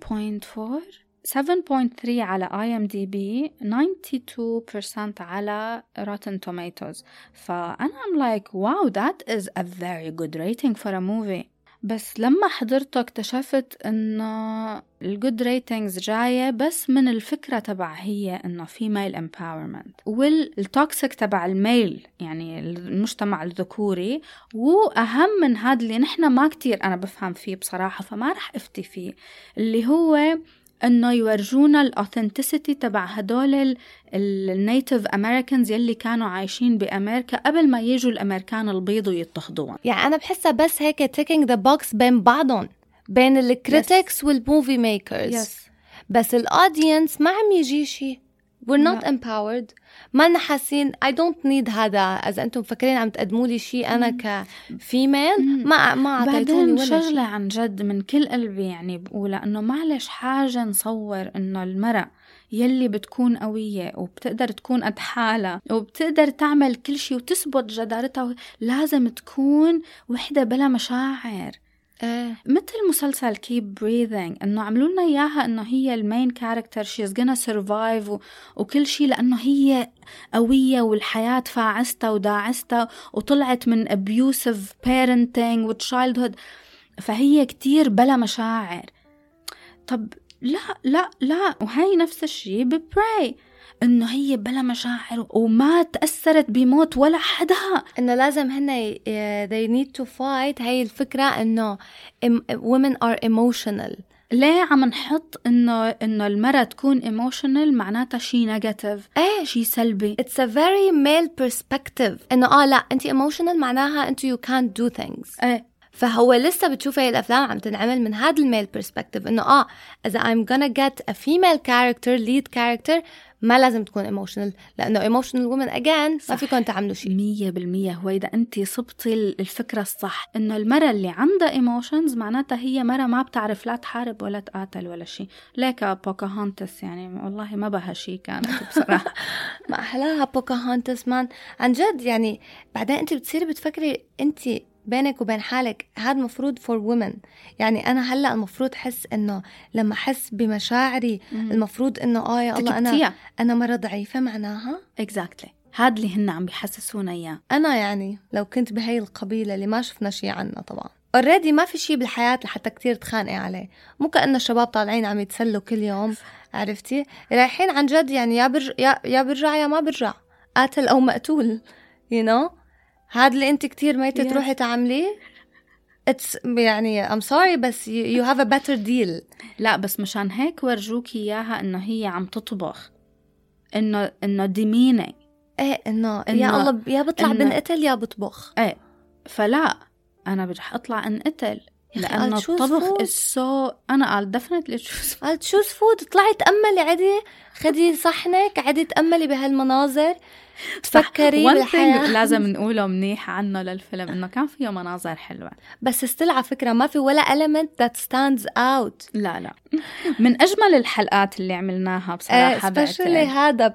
7.3 على IMDb، 92% على Rotten Tomatoes. فأنا I'm like wow, that is a very good rating for a movie. بس لما حضرته اكتشفت إنه الجود ريتينجز جاية بس من الفكرة تبع هي إنه female empowerment والتوكسيك تبع الميل، يعني المجتمع الذكوري. وأهم من هذا اللي نحنا ما كتير أنا بفهم فيه بصراحة، فما رح أفتي فيه، اللي هو إنه يورجونا الأوثنتسيتي تبع هدول النيتيف أمريكانز يلي كانوا عايشين بأمريكا قبل ما يجوا الأمريكان البيض ويضطهدوهم. يعني أنا بحسها بس هيك taking the box بين بعضهم، بين الكريتكس والموفي ميكرز. بس الأودينس ما عم يجي شيء. we're not empowered. ما لنا حاسين I don't need هذا. إذا أنتم مفكرين عم تقدموا لي شيء أنا كفيميل ما أعطيتوني ولا شيء. شغلة عن جد من كل قلبي يعني بقولها، إنه معلش حاجة نصور إنه المرأة يلي بتكون قوية وبتقدر تكون قد حالها وبتقدر تعمل كل شيء وتثبت جدارتها، لازم تكون وحدة بلا مشاعر. مثل مسلسل Keep Breathing، إنه عملوا لنا إياها إنه هي المين كاركتر she's gonna survive وكل شيء، لأنه هي قوية والحياة فاعستها وداعستها وطلعت من abusive parenting و childhood، فهي كتير بلا مشاعر. طب لا وهي نفس الشيء ببراي، إنه هي بلا مشاعر وما تأثرت بموت ولا حدا. إنه لازم هن they need to fight. هاي الفكرة إنه women are emotional. ليه عم نحط إنه المرأة تكون emotional معناتها شيء نيجاتيف، شيء سلبي. It's a very male perspective. إنه لا أنتي emotional معناها أنتي you can't do things. فهو لسه بتشوف هاي الأفلام عم تنعمل من هذا الميل برسبكتيف إنه إذا I'm gonna get a female character lead character ما لازم تكون emotional لأنه emotional women again ما فيكم تعملوا شيء. 100%. هو إذا أنت صبتي الفكرة الصح إنه المرة اللي عندها emotions معناتها هي مرة ما بتعرف لا تحارب ولا تقاتل ولا شيء. ليك بوكاهونتس يعني والله ما بها شيء كانت بصراحة. ما أحلاها بوكاهونتس مان عن جد. يعني بعدين أنت بتصيري بتفكري أنت بينك وبين حالك هذا مفروض for women. يعني أنا هلأ المفروض حس إنه لما أحس بمشاعري المفروض إنه يا الله أنا مرة ضعيفة معناها. exactly. هذا اللي هن عم بيحسسونا إياه. أنا يعني لو كنت بهاي القبيلة اللي ما شفنا شيء عنها طبعا already ما في شيء بالحياة لحتى كتير تخانقي عليه. مو كأن الشباب طالعين عم يتسلوا كل يوم عرفتي رايحين عن جد يعني يا برجع يا ما برجع قاتل أو مقتول you know. هذا اللي أنت كتير ميتة تروحي تعمليه it's يعني I'm sorry بس you have a better deal. لا بس مشان هيك ورجوكي إياها إنه هي عم تطبخ إنه دمينة إنه يا الله يا بطلع بنقتل يا بطبخ فلا أنا برح أطلع انقتل لأنه الطبخ أنا قال definitely choose food. طلعي تأملي عادي خدي صحنك عادي تأملي بهالمناظر تفكري بالحياة. لازم نقوله منيح عنه للفيلم إنه كان فيه مناظر حلوة بس استل على فكرة ما في ولا element that stands out. لا من أجمل الحلقات اللي عملناها بصراحة. especially هذا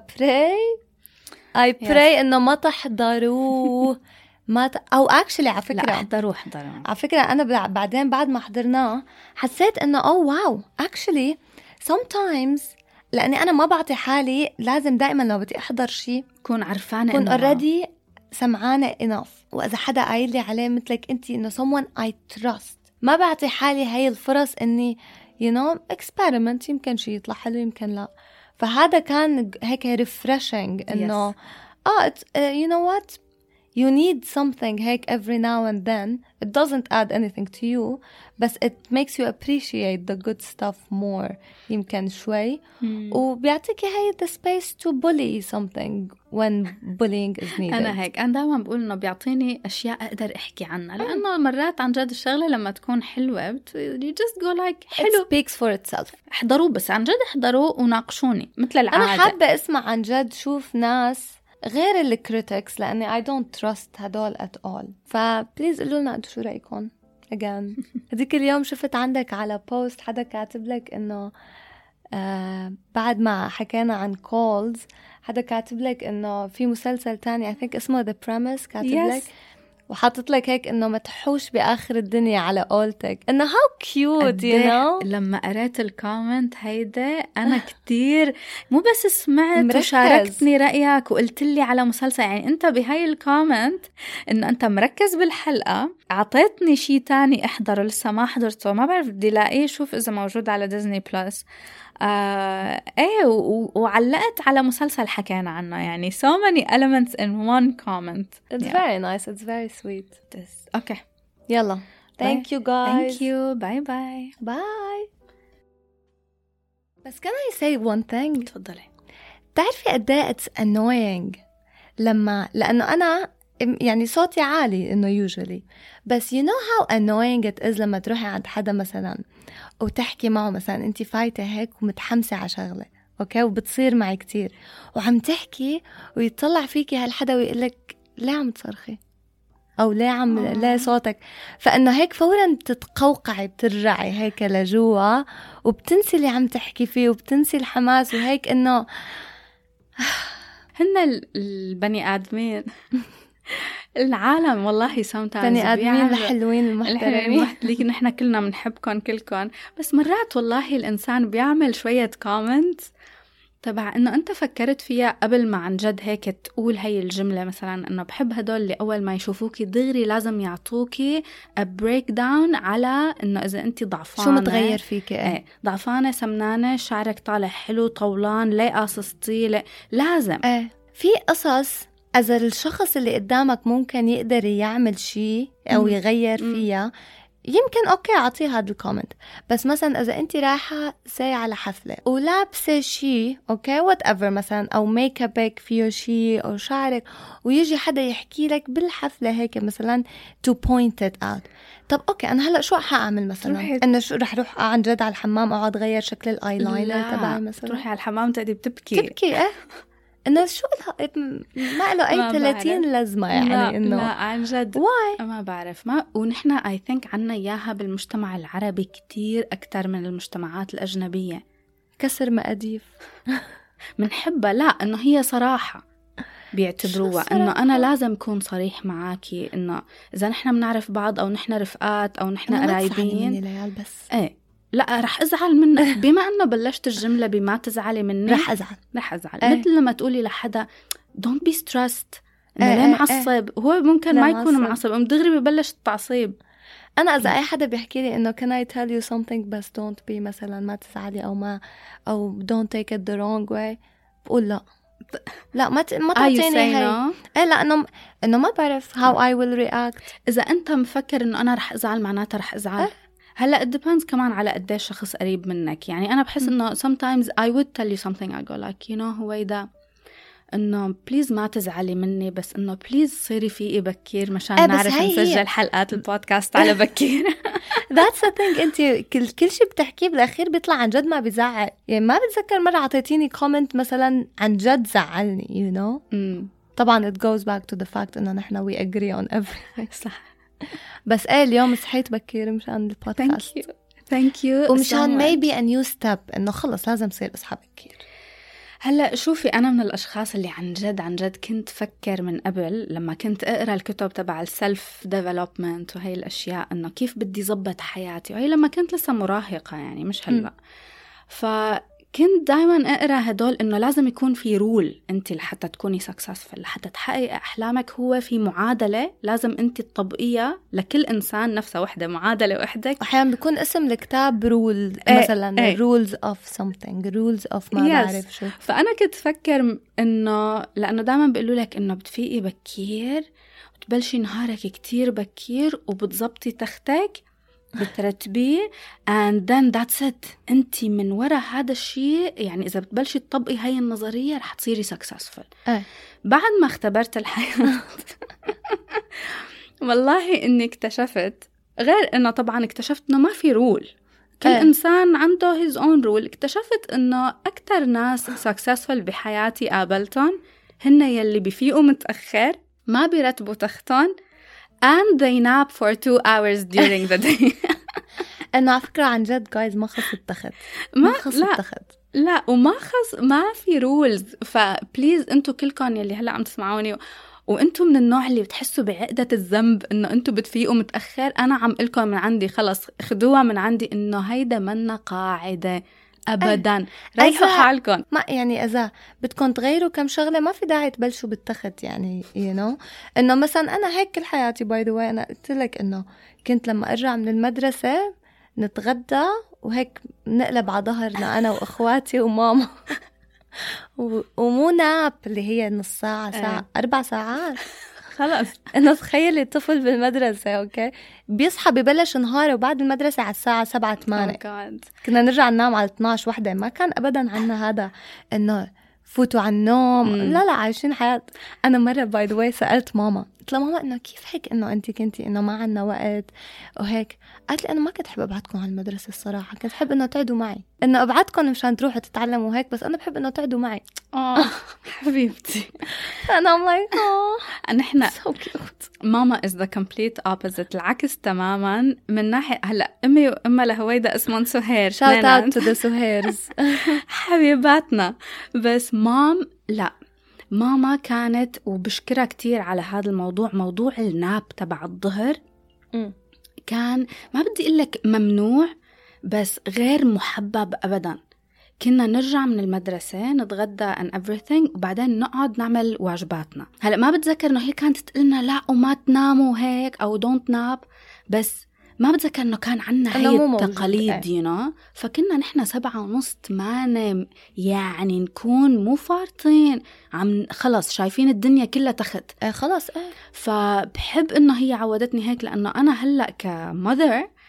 I pray إنه ما تحضروه أو actually على فكرة لا احضروا على فكرة أنا بعدين بعد ما حضرناه حسيت إنه wow actually sometimes لأني أنا ما بعطي حالي لازم دائما لو بدي أحضر شيء كون عرفانة كون already سمعانة enough. وإذا حدا قايل لي عليه مثلك أنتي إنه someone I trust ما بعطي حالي هاي الفرص إني you know experiment يمكن شيء يطلع حلو يمكن لا. فهذا كان هيك refreshing إنه you know what you need something هيك every now and then. It doesn't add anything to you بس it makes you appreciate the good stuff more يمكن شوي وبيعطيك هاي the space to bully something when bullying is needed. أنا هيك أنا دائما بقول إنه بيعطيني أشياء أقدر أحكي عنها لأنه مرات عن جد الشغلة لما تكون حلوة you just go like حلو it speaks for itself. احضروه بس عن جد احضروه وناقشوني مثل العادة. أنا حابة أسمع عن جد شوف ناس غير الكريتكس لأني I don't trust هدول at all. فبليز قلوا لنا أنتوا شو رأيكم again. هذيك اليوم شفت عندك على بوست حدا كاتب لك إنه بعد ما حكينا عن calls حدا كاتب لك إنه في مسلسل تاني I think اسمه The Premise كاتب لك وحاطت لك هيك إنه ما تحوش بآخر الدنيا على قولتك إنه how cute you know. لما قرأت الكومنت هيدا أنا كتير مو بس سمعت وشاركتني رأيك وقلت لي على مسلسل. يعني أنت بهاي الكومنت إنه أنت مركز بالحلقة عطيتني شي تاني أحضره لسه ما حضرته ما بعرف بدي لاقيه شوف إذا موجود على ديزني بلس. وعلقت على مسلسل حكينا عنه يعني so many elements in one comment. It's very nice. It's very sweet. Okay. يلا. Thank you guys. Thank you. Bye bye. Bye. بس can I say one thing؟ تفضلي. تعرفي قد ايه it's annoying لأنه أنا يعني صوتي عالي إنه usually بس you know how annoying it is لما تروحي عند حدا مثلا وتحكي معه مثلا أنت فايتة هيك ومتحمسة على شغلة أوكي وبتصير معي كتير وعم تحكي ويطلع فيكي هالحدا ويقلك ليه عم تصرخي أو ليه صوتك. فإنه هيك فورا بتتقوقعي بترجعي هيك لجوا وبتنسي اللي عم تحكي فيه وبتنسي الحماس وهيك إنه هن البني آدمين العالم والله sometimes بني آدمين الحلوين المحترمين اللي نحن كلنا بنحبكم كلكم بس مرات والله الإنسان بيعمل شوية كومنت تبع إنه أنت فكرت فيها قبل ما عن جد هيك تقول هاي الجملة مثلا إنه بحب هدول اللي أول ما يشوفوكي دغري لازم يعطوكي a breakdown على إنه إذا أنت ضعفانة شو متغير فيكي ايه ضعفانة سمنانة شعرك طالع حلو طولان ليه قاصصتي لازم في قصص إذا الشخص اللي قدامك ممكن يقدر يعمل شيء أو يغير فيها يمكن أوكي أعطيه هذا الكومنت. بس مثلا إذا أنت رايحة ساي على حفلة ولابسة شيء أوكي whatever مثلا، أو ميك أبك فيه شيء أو شعرك، ويجي حدا يحكي لك بالحفلة هيك مثلا to point it out. طب أوكي أنا هلأ شو حأعمل مثلا؟ إنه شو رح روح عن جد على الحمام أقعد غير شكل الآيلاينر تبعي مثلا؟ تروحي على الحمام تقعدي بتبكي إنه شو ما له أي 30 لازمة يعني. إنه لا عن جد واي ما بعرف. ما ونحن I think عنا إياها بالمجتمع العربي كتير أكتر من المجتمعات الأجنبية. كسر مقاديف منحبها. لا إنه هي صراحة بيعتبروها إنه أنا لازم أكون صريح معاكي، إنه إذا نحن بنعرف بعض أو نحن رفقات أو نحن قرايبين بس إيه لا رح أزعل منك. بما أنه بلشت الجملة بما تزعلي مني رح أزعل مثل لما تقولي لحدا don't be stressed إنه ليه معصب. هو ممكن ما يكون معصب، دغري ببلش التعصيب. أنا إذا أي حدا بيحكي لي إنه can I tell you something بس don't be مثلا ما تزعلي أو don't take it the wrong way، بقول لا ما تعطيني هاي. لا إنه ما بعرف how I will react. إذا أنت مفكر إنه أنا رح أزعل معناتها رح أزعل. هلا it depends كمان على قديش شخص قريب منك. يعني أنا بحس إنه sometimes I would tell you something I go like you know هويدا إنه please ما تزعلي مني، بس إنه please صيري فيقي بكير مشان نعرف نسجل حلقات البودكاست على بكير. That's the thing. أنت كل شيء بتحكيه بالأخير بيطلع عن جد ما بيزعل. يعني ما بتذكر مرة عطيتيني comment مثلا عن جد زعلني you know. طبعا it goes back to the fact إنه نحن we agree on everything. صح. بس اليوم صحيت بكير مشان البودكاست. thank you ومشان maybe a new step إنه خلص لازم صير أصحى بكير. هلأ شوفي أنا من الأشخاص اللي عن جد كنت فكر من قبل لما كنت أقرأ الكتب تبع السلف ديفلوبمنت وهي الأشياء إنه كيف بدي زبط حياتي، وهي لما كنت لسه مراهقة يعني مش هلأ. فكنت دايما أقرأ هدول إنه لازم يكون في رول أنت لحتى تكوني successful، لحتى تحقق أحلامك. هو في معادلة لازم أنت تطبقيها لكل إنسان نفسه وحدة، معادلة وحدك. أحيانا بيكون اسم الكتاب رول مثلا rules of something rules of ما بعرف شو. فأنا كنت فكر إنه لأنه دايما بيقولوا لك إنه بتفيقي بكير وتبلشي نهارك كتير بكير وبتزبطي تختك بترتبيه and then that's it. انت من وراء هذا الشيء يعني إذا بتبلشي تطبقي هاي النظرية رح تصيري successful. بعد ما اختبرت الحياة والله إني اكتشفت، غير إنه طبعا اكتشفت إنه ما في رول، كل إنسان عنده his own rule. اكتشفت إنه أكتر ناس successful بحياتي قابلتهم هن يلي بيفيقوا متأخر، ما بيرتبوا تختهم and they nap for 2 hours during the day. أنا على فكرة عن جد guys ما خص التخت، لا وما ما في rules. فبليز انتو كلكم يلي هلأ عم تسمعوني وانتو من النوع اللي بتحسوا بعقدة الذنب انه انتو بتفيقوا متأخر، انا عم قلكم من عندي خلص خدوها من عندي انه هيدا منا قاعدة ابدا. ريحوا حالكم. ما يعني اذا بدكم تغيروا كم شغله ما في داعي تبلشوا بالتخت يعني you know. انه مثلا انا هيك كل حياتي باي ذا واي، انا قلت لك انه كنت لما ارجع من المدرسه نتغدى وهيك نقلب على ظهرنا انا واخواتي وماما ومو ناب اللي هي نص ساعه 4 ساعات خلاص. أنا تخيلي طفل بالمدرسة أوكي بيصحى ببلش نهاره وبعد المدرسة على الساعة 7-8 كنا نرجع ننام على 12-1. ما كان أبدا عنا هذا إنه فوتوا على النوم. لا عايشين حياة. أنا مرة باي ذا واي سألت ماما، قلت لها ماما إنه كيف هيك إنه أنت كنتي إنه ما عنا وقت وهيك. قالت لي أنا ما كنت أحب أبعدكم على المدرسة الصراحة، كنت أحب إنه تقعدوا معي، إنه أبعدكم مشان تروحوا تتعلموا هيك، بس أنا بحب إنه تقعدوا معي. حبيبتي. أنا I'm like نحن so cute. ماما is the complete opposite، العكس تماما. من ناحية هلأ أمي وأمها لهويدا اسمهم سهير، shout out to the سهيرز حبيباتنا. بس لا ماما كانت، وبشكرها كتير على هذا الموضوع، موضوع الناب تبع الظهر كان ما بدي أقولك ممنوع بس غير محبب أبدا. كنا نرجع من المدرسة نتغدى and everything وبعدين نقعد نعمل واجباتنا. هلأ ما بتذكر إنه هي كانت تقلنا لا وما تناموا هيك أو don't nap، بس ما بتذكر إنه كان عنا هاي التقاليد you know. فكنا نحن 7:30 يعني نكون مو فارطين، عم خلص شايفين الدنيا كلها تخت خلص. فبحب إنه هي عودتني هيك، لأنه أنا هلأ كمother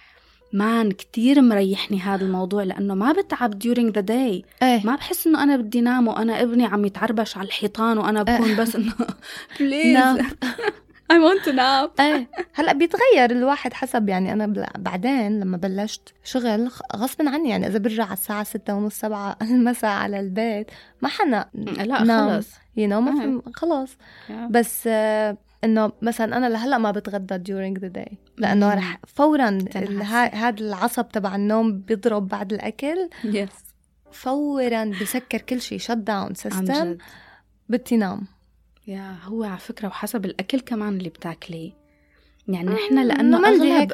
مان كتير مريحني هذا الموضوع، لأنه ما بتعب during the day. ما بحس إنه أنا بدي نام وأنا ابني عم يتعربش على الحيطان وأنا بكون بس إنه please I want to nap. هلأ بيتغير الواحد حسب، يعني أنا بعدين لما بلشت شغل غصب عني، يعني إذا برجع على الساعة 6:30-7 المساء على البيت ما حنا لا خلص ما في خلاص. بس إنه مثلا أنا لهلأ ما بتغدى during the day، لأنه رح فورا هذا العصب تبع النوم بيضرب بعد الأكل. فورا بسكر كل شيء shut down system، بدي نام. هو على فكرة وحسب الأكل كمان اللي بتاكليه، يعني إحنا لأنه أغلب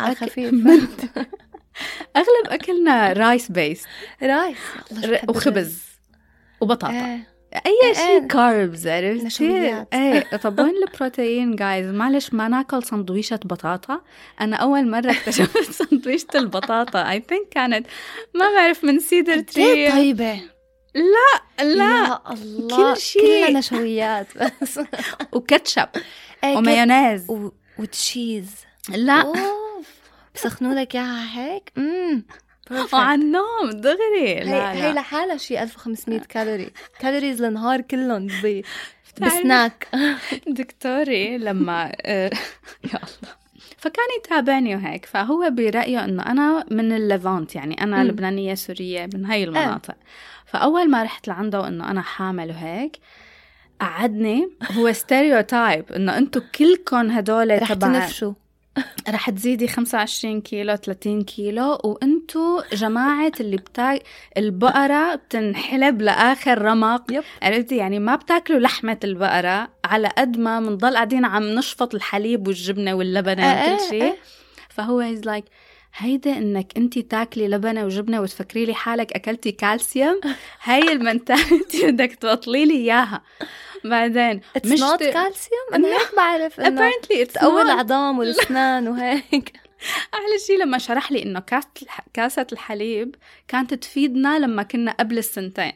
أغلب أكلنا رايس بيست، رايس وخبز وبطاطا، أي شيء كاربز، عرفتي؟ طب وين البروتين جايز؟ معلش ما ناكل سندويشة بطاطا. أنا أول مرة اكتشفت سندويشة البطاطا I think كانت ما بعرف من سيدر تري. طيبة لا الله كل شيء كل نشويات بس وكاتشب ومايونيز وتشيز. لا بسخنوا لك اياها هيك وعن النوم دغري. هي لحالها شيء 1500 كالوريز للنهار كلهم بسناك. دكتوري لما يا الله فكان يتابعني وهيك، فهو برأيه انه انا من الليفانت، يعني انا لبنانية سورية من هاي المناطق. فاول ما رحت لعنده وانه انا حامل وهيك قعدني، هو ستيريوتايب انه انتو كلكم هدول رح تنفشوا، رح تزيدي 25 كيلو 30 كيلو، وانتو جماعة اللي البقرة بتنحلب لآخر رمق. عرفتي؟ يعني ما بتاكلوا لحمة البقرة على قد ما منضل قاعدين عم نشفط الحليب والجبنة واللبنة وكل شيء. فهو he's like هيدا انك انتي تاكلي لبنة وجبنة وتفكري لي حالك اكلتي كالسيوم، هاي المنتاليتي بدك تبطلي لي اياها. بعدين مش كالسيوم، انا هيك بعرف انه تقوي العظام والاسنان وهيك. احلى شيء لما شرح لي انه كاسة الحليب كانت تفيدنا لما كنا قبل السنتين.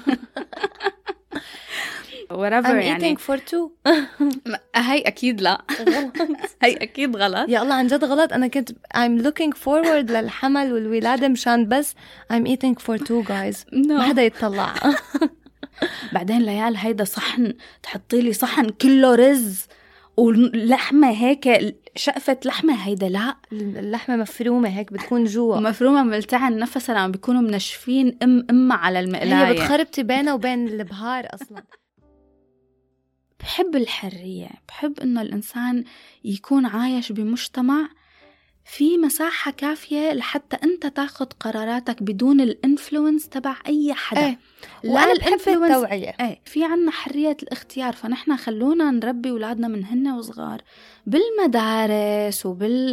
I'm يعني eating for two. هاي أكيد لا هاي أكيد غلط. يا الله عن جد غلط. أنا كنت I'm looking forward للحمل والولادة مشان بس I'm eating for two guys. ما حدا يتطلع. بعدين ليال هيدا صحن، تحطي لي صحن كله رز ولحمة هيك، شقفة لحمة. هيدا لا، اللحمة مفرومة هيك بتكون جوا، مفرومة ملتعن نفسها لما بيكونوا منشفين إما على المقلاية. هي بتخربتي بينه وبين البهار أصلا. بحب الحرية، بحب إنه الإنسان يكون عايش بمجتمع في مساحة كافية لحتى أنت تاخد قراراتك بدون الانفلونس تبع أي حدا. لا بحب التوعية. في عنا حرية الاختيار، فنحن خلونا نربي أولادنا من هن وصغار بالمدارس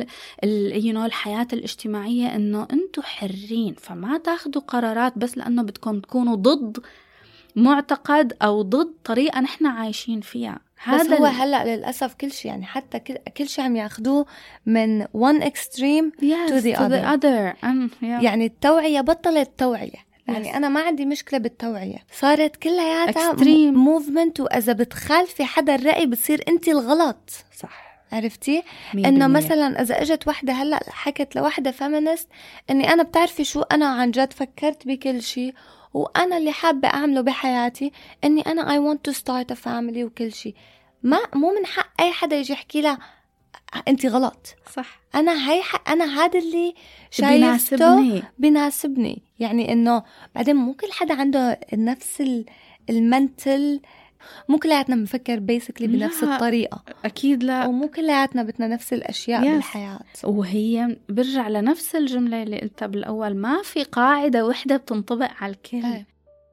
الحياة الاجتماعية إنه أنتوا حرين، فما تاخدوا قرارات بس لأنه بدكم تكونوا ضد معتقد أو ضد طريقة نحن عايشين فيها. هذا هو هلأ للأسف كل شيء، يعني حتى كل شيء عم ياخدوه من one extreme to the other. يعني التوعية بطلت توعية. يعني أنا ما عندي مشكلة بالتوعية، صارت كلها movement، وإذا بتخالفي حدا الرأي بتصير أنت الغلط. صح، عرفتي؟ إنه مثلا إذا أجت وحدة هلأ حكت لوحدة feminist إني أنا بتعرفي شو، أنا عن جد فكرت بكل شيء وأنا اللي حابة أعمله بحياتي إني أنا I want to start a family وكل شيء. مو من حق أي حدا يجي يحكي لها أنت غلط. صح، أنا هذا اللي شايفته بيناسبني. يعني إنه بعدين مو كل حدا عنده نفس المنتل، مو كلياتنا بنفكر basically بنفس الطريقة. أكيد لا، ومو كلياتنا بدنا نفس الأشياء بالحياة. وهي برجع لنفس الجملة اللي قلتها بالأول، ما في قاعدة وحدة بتنطبق على الكل.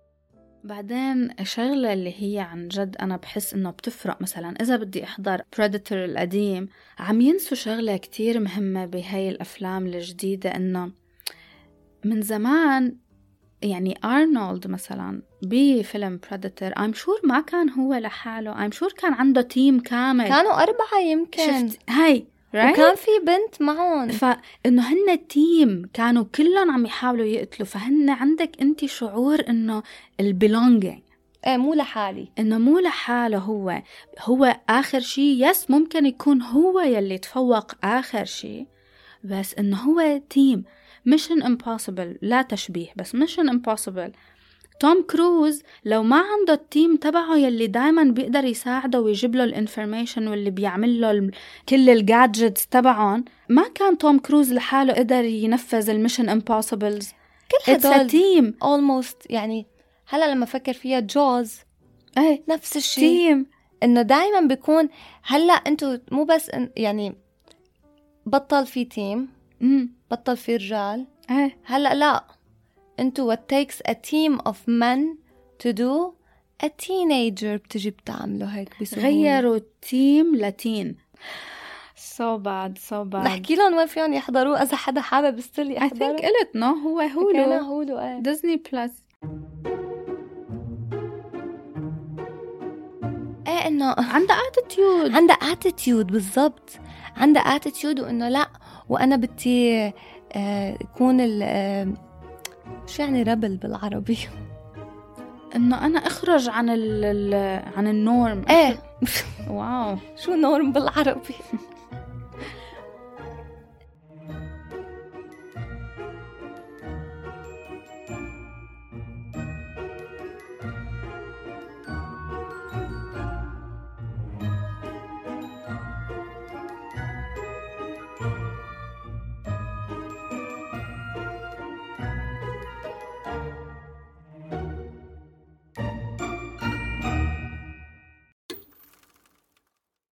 بعدين الشغلة اللي هي عن جد أنا بحس إنه بتفرق، مثلا إذا بدي أحضر Predator القديم، عم ينسوا شغلة كتير مهمة بهاي الأفلام الجديدة، إنه من زمان يعني أرنولد مثلا بفيلم Predator I'm sure ما كان هو لحاله، I'm sure كان عنده تيم كامل، كانوا 4 يمكن. شفت هاي وكان في بنت معهم، فإنه هن تيم كانوا كلهم عم يحاولوا يقتلوا. فهن عندك أنت شعور إنه البيلونجينج، مو لحالي، إنه مو لحاله، هو آخر شيء. يس ممكن يكون هو يلي تفوق آخر شيء، بس إنه هو تيم. Mission Impossible، لا تشبيه بس Mission Impossible. توم كروز لو ما عنده التيم تبعه يلي دايما بيقدر يساعده ويجيب له الانفورميشن واللي بيعمل له كل الجادجتس تبعهم، ما كان توم كروز لحاله قدر ينفذ الميشن امبوسيبلز. كل هدول تيم almost. يعني هلا لما فكر فيها جوز نفس الشيء، تيم انه دايما بيكون. هلا انتو مو بس يعني بطل في تيم، بطل في رجال. هلا لا، انتو what takes a team of men to do a teenager بتجي بتعمله هيك بسهولة. غيروا تيم لتين. so bad. نحكي لهم وين فيهم يحضروا إذا حدا حابب يستلي يحضروا. I think قلت no هو هولو ديزني بلس. انه عنده attitude بالضبط، عنده attitude وانه لا وانا بدي يكون شو يعني ربل بالعربي؟ انه انا اخرج عن النورم. واو شو نورم بالعربي؟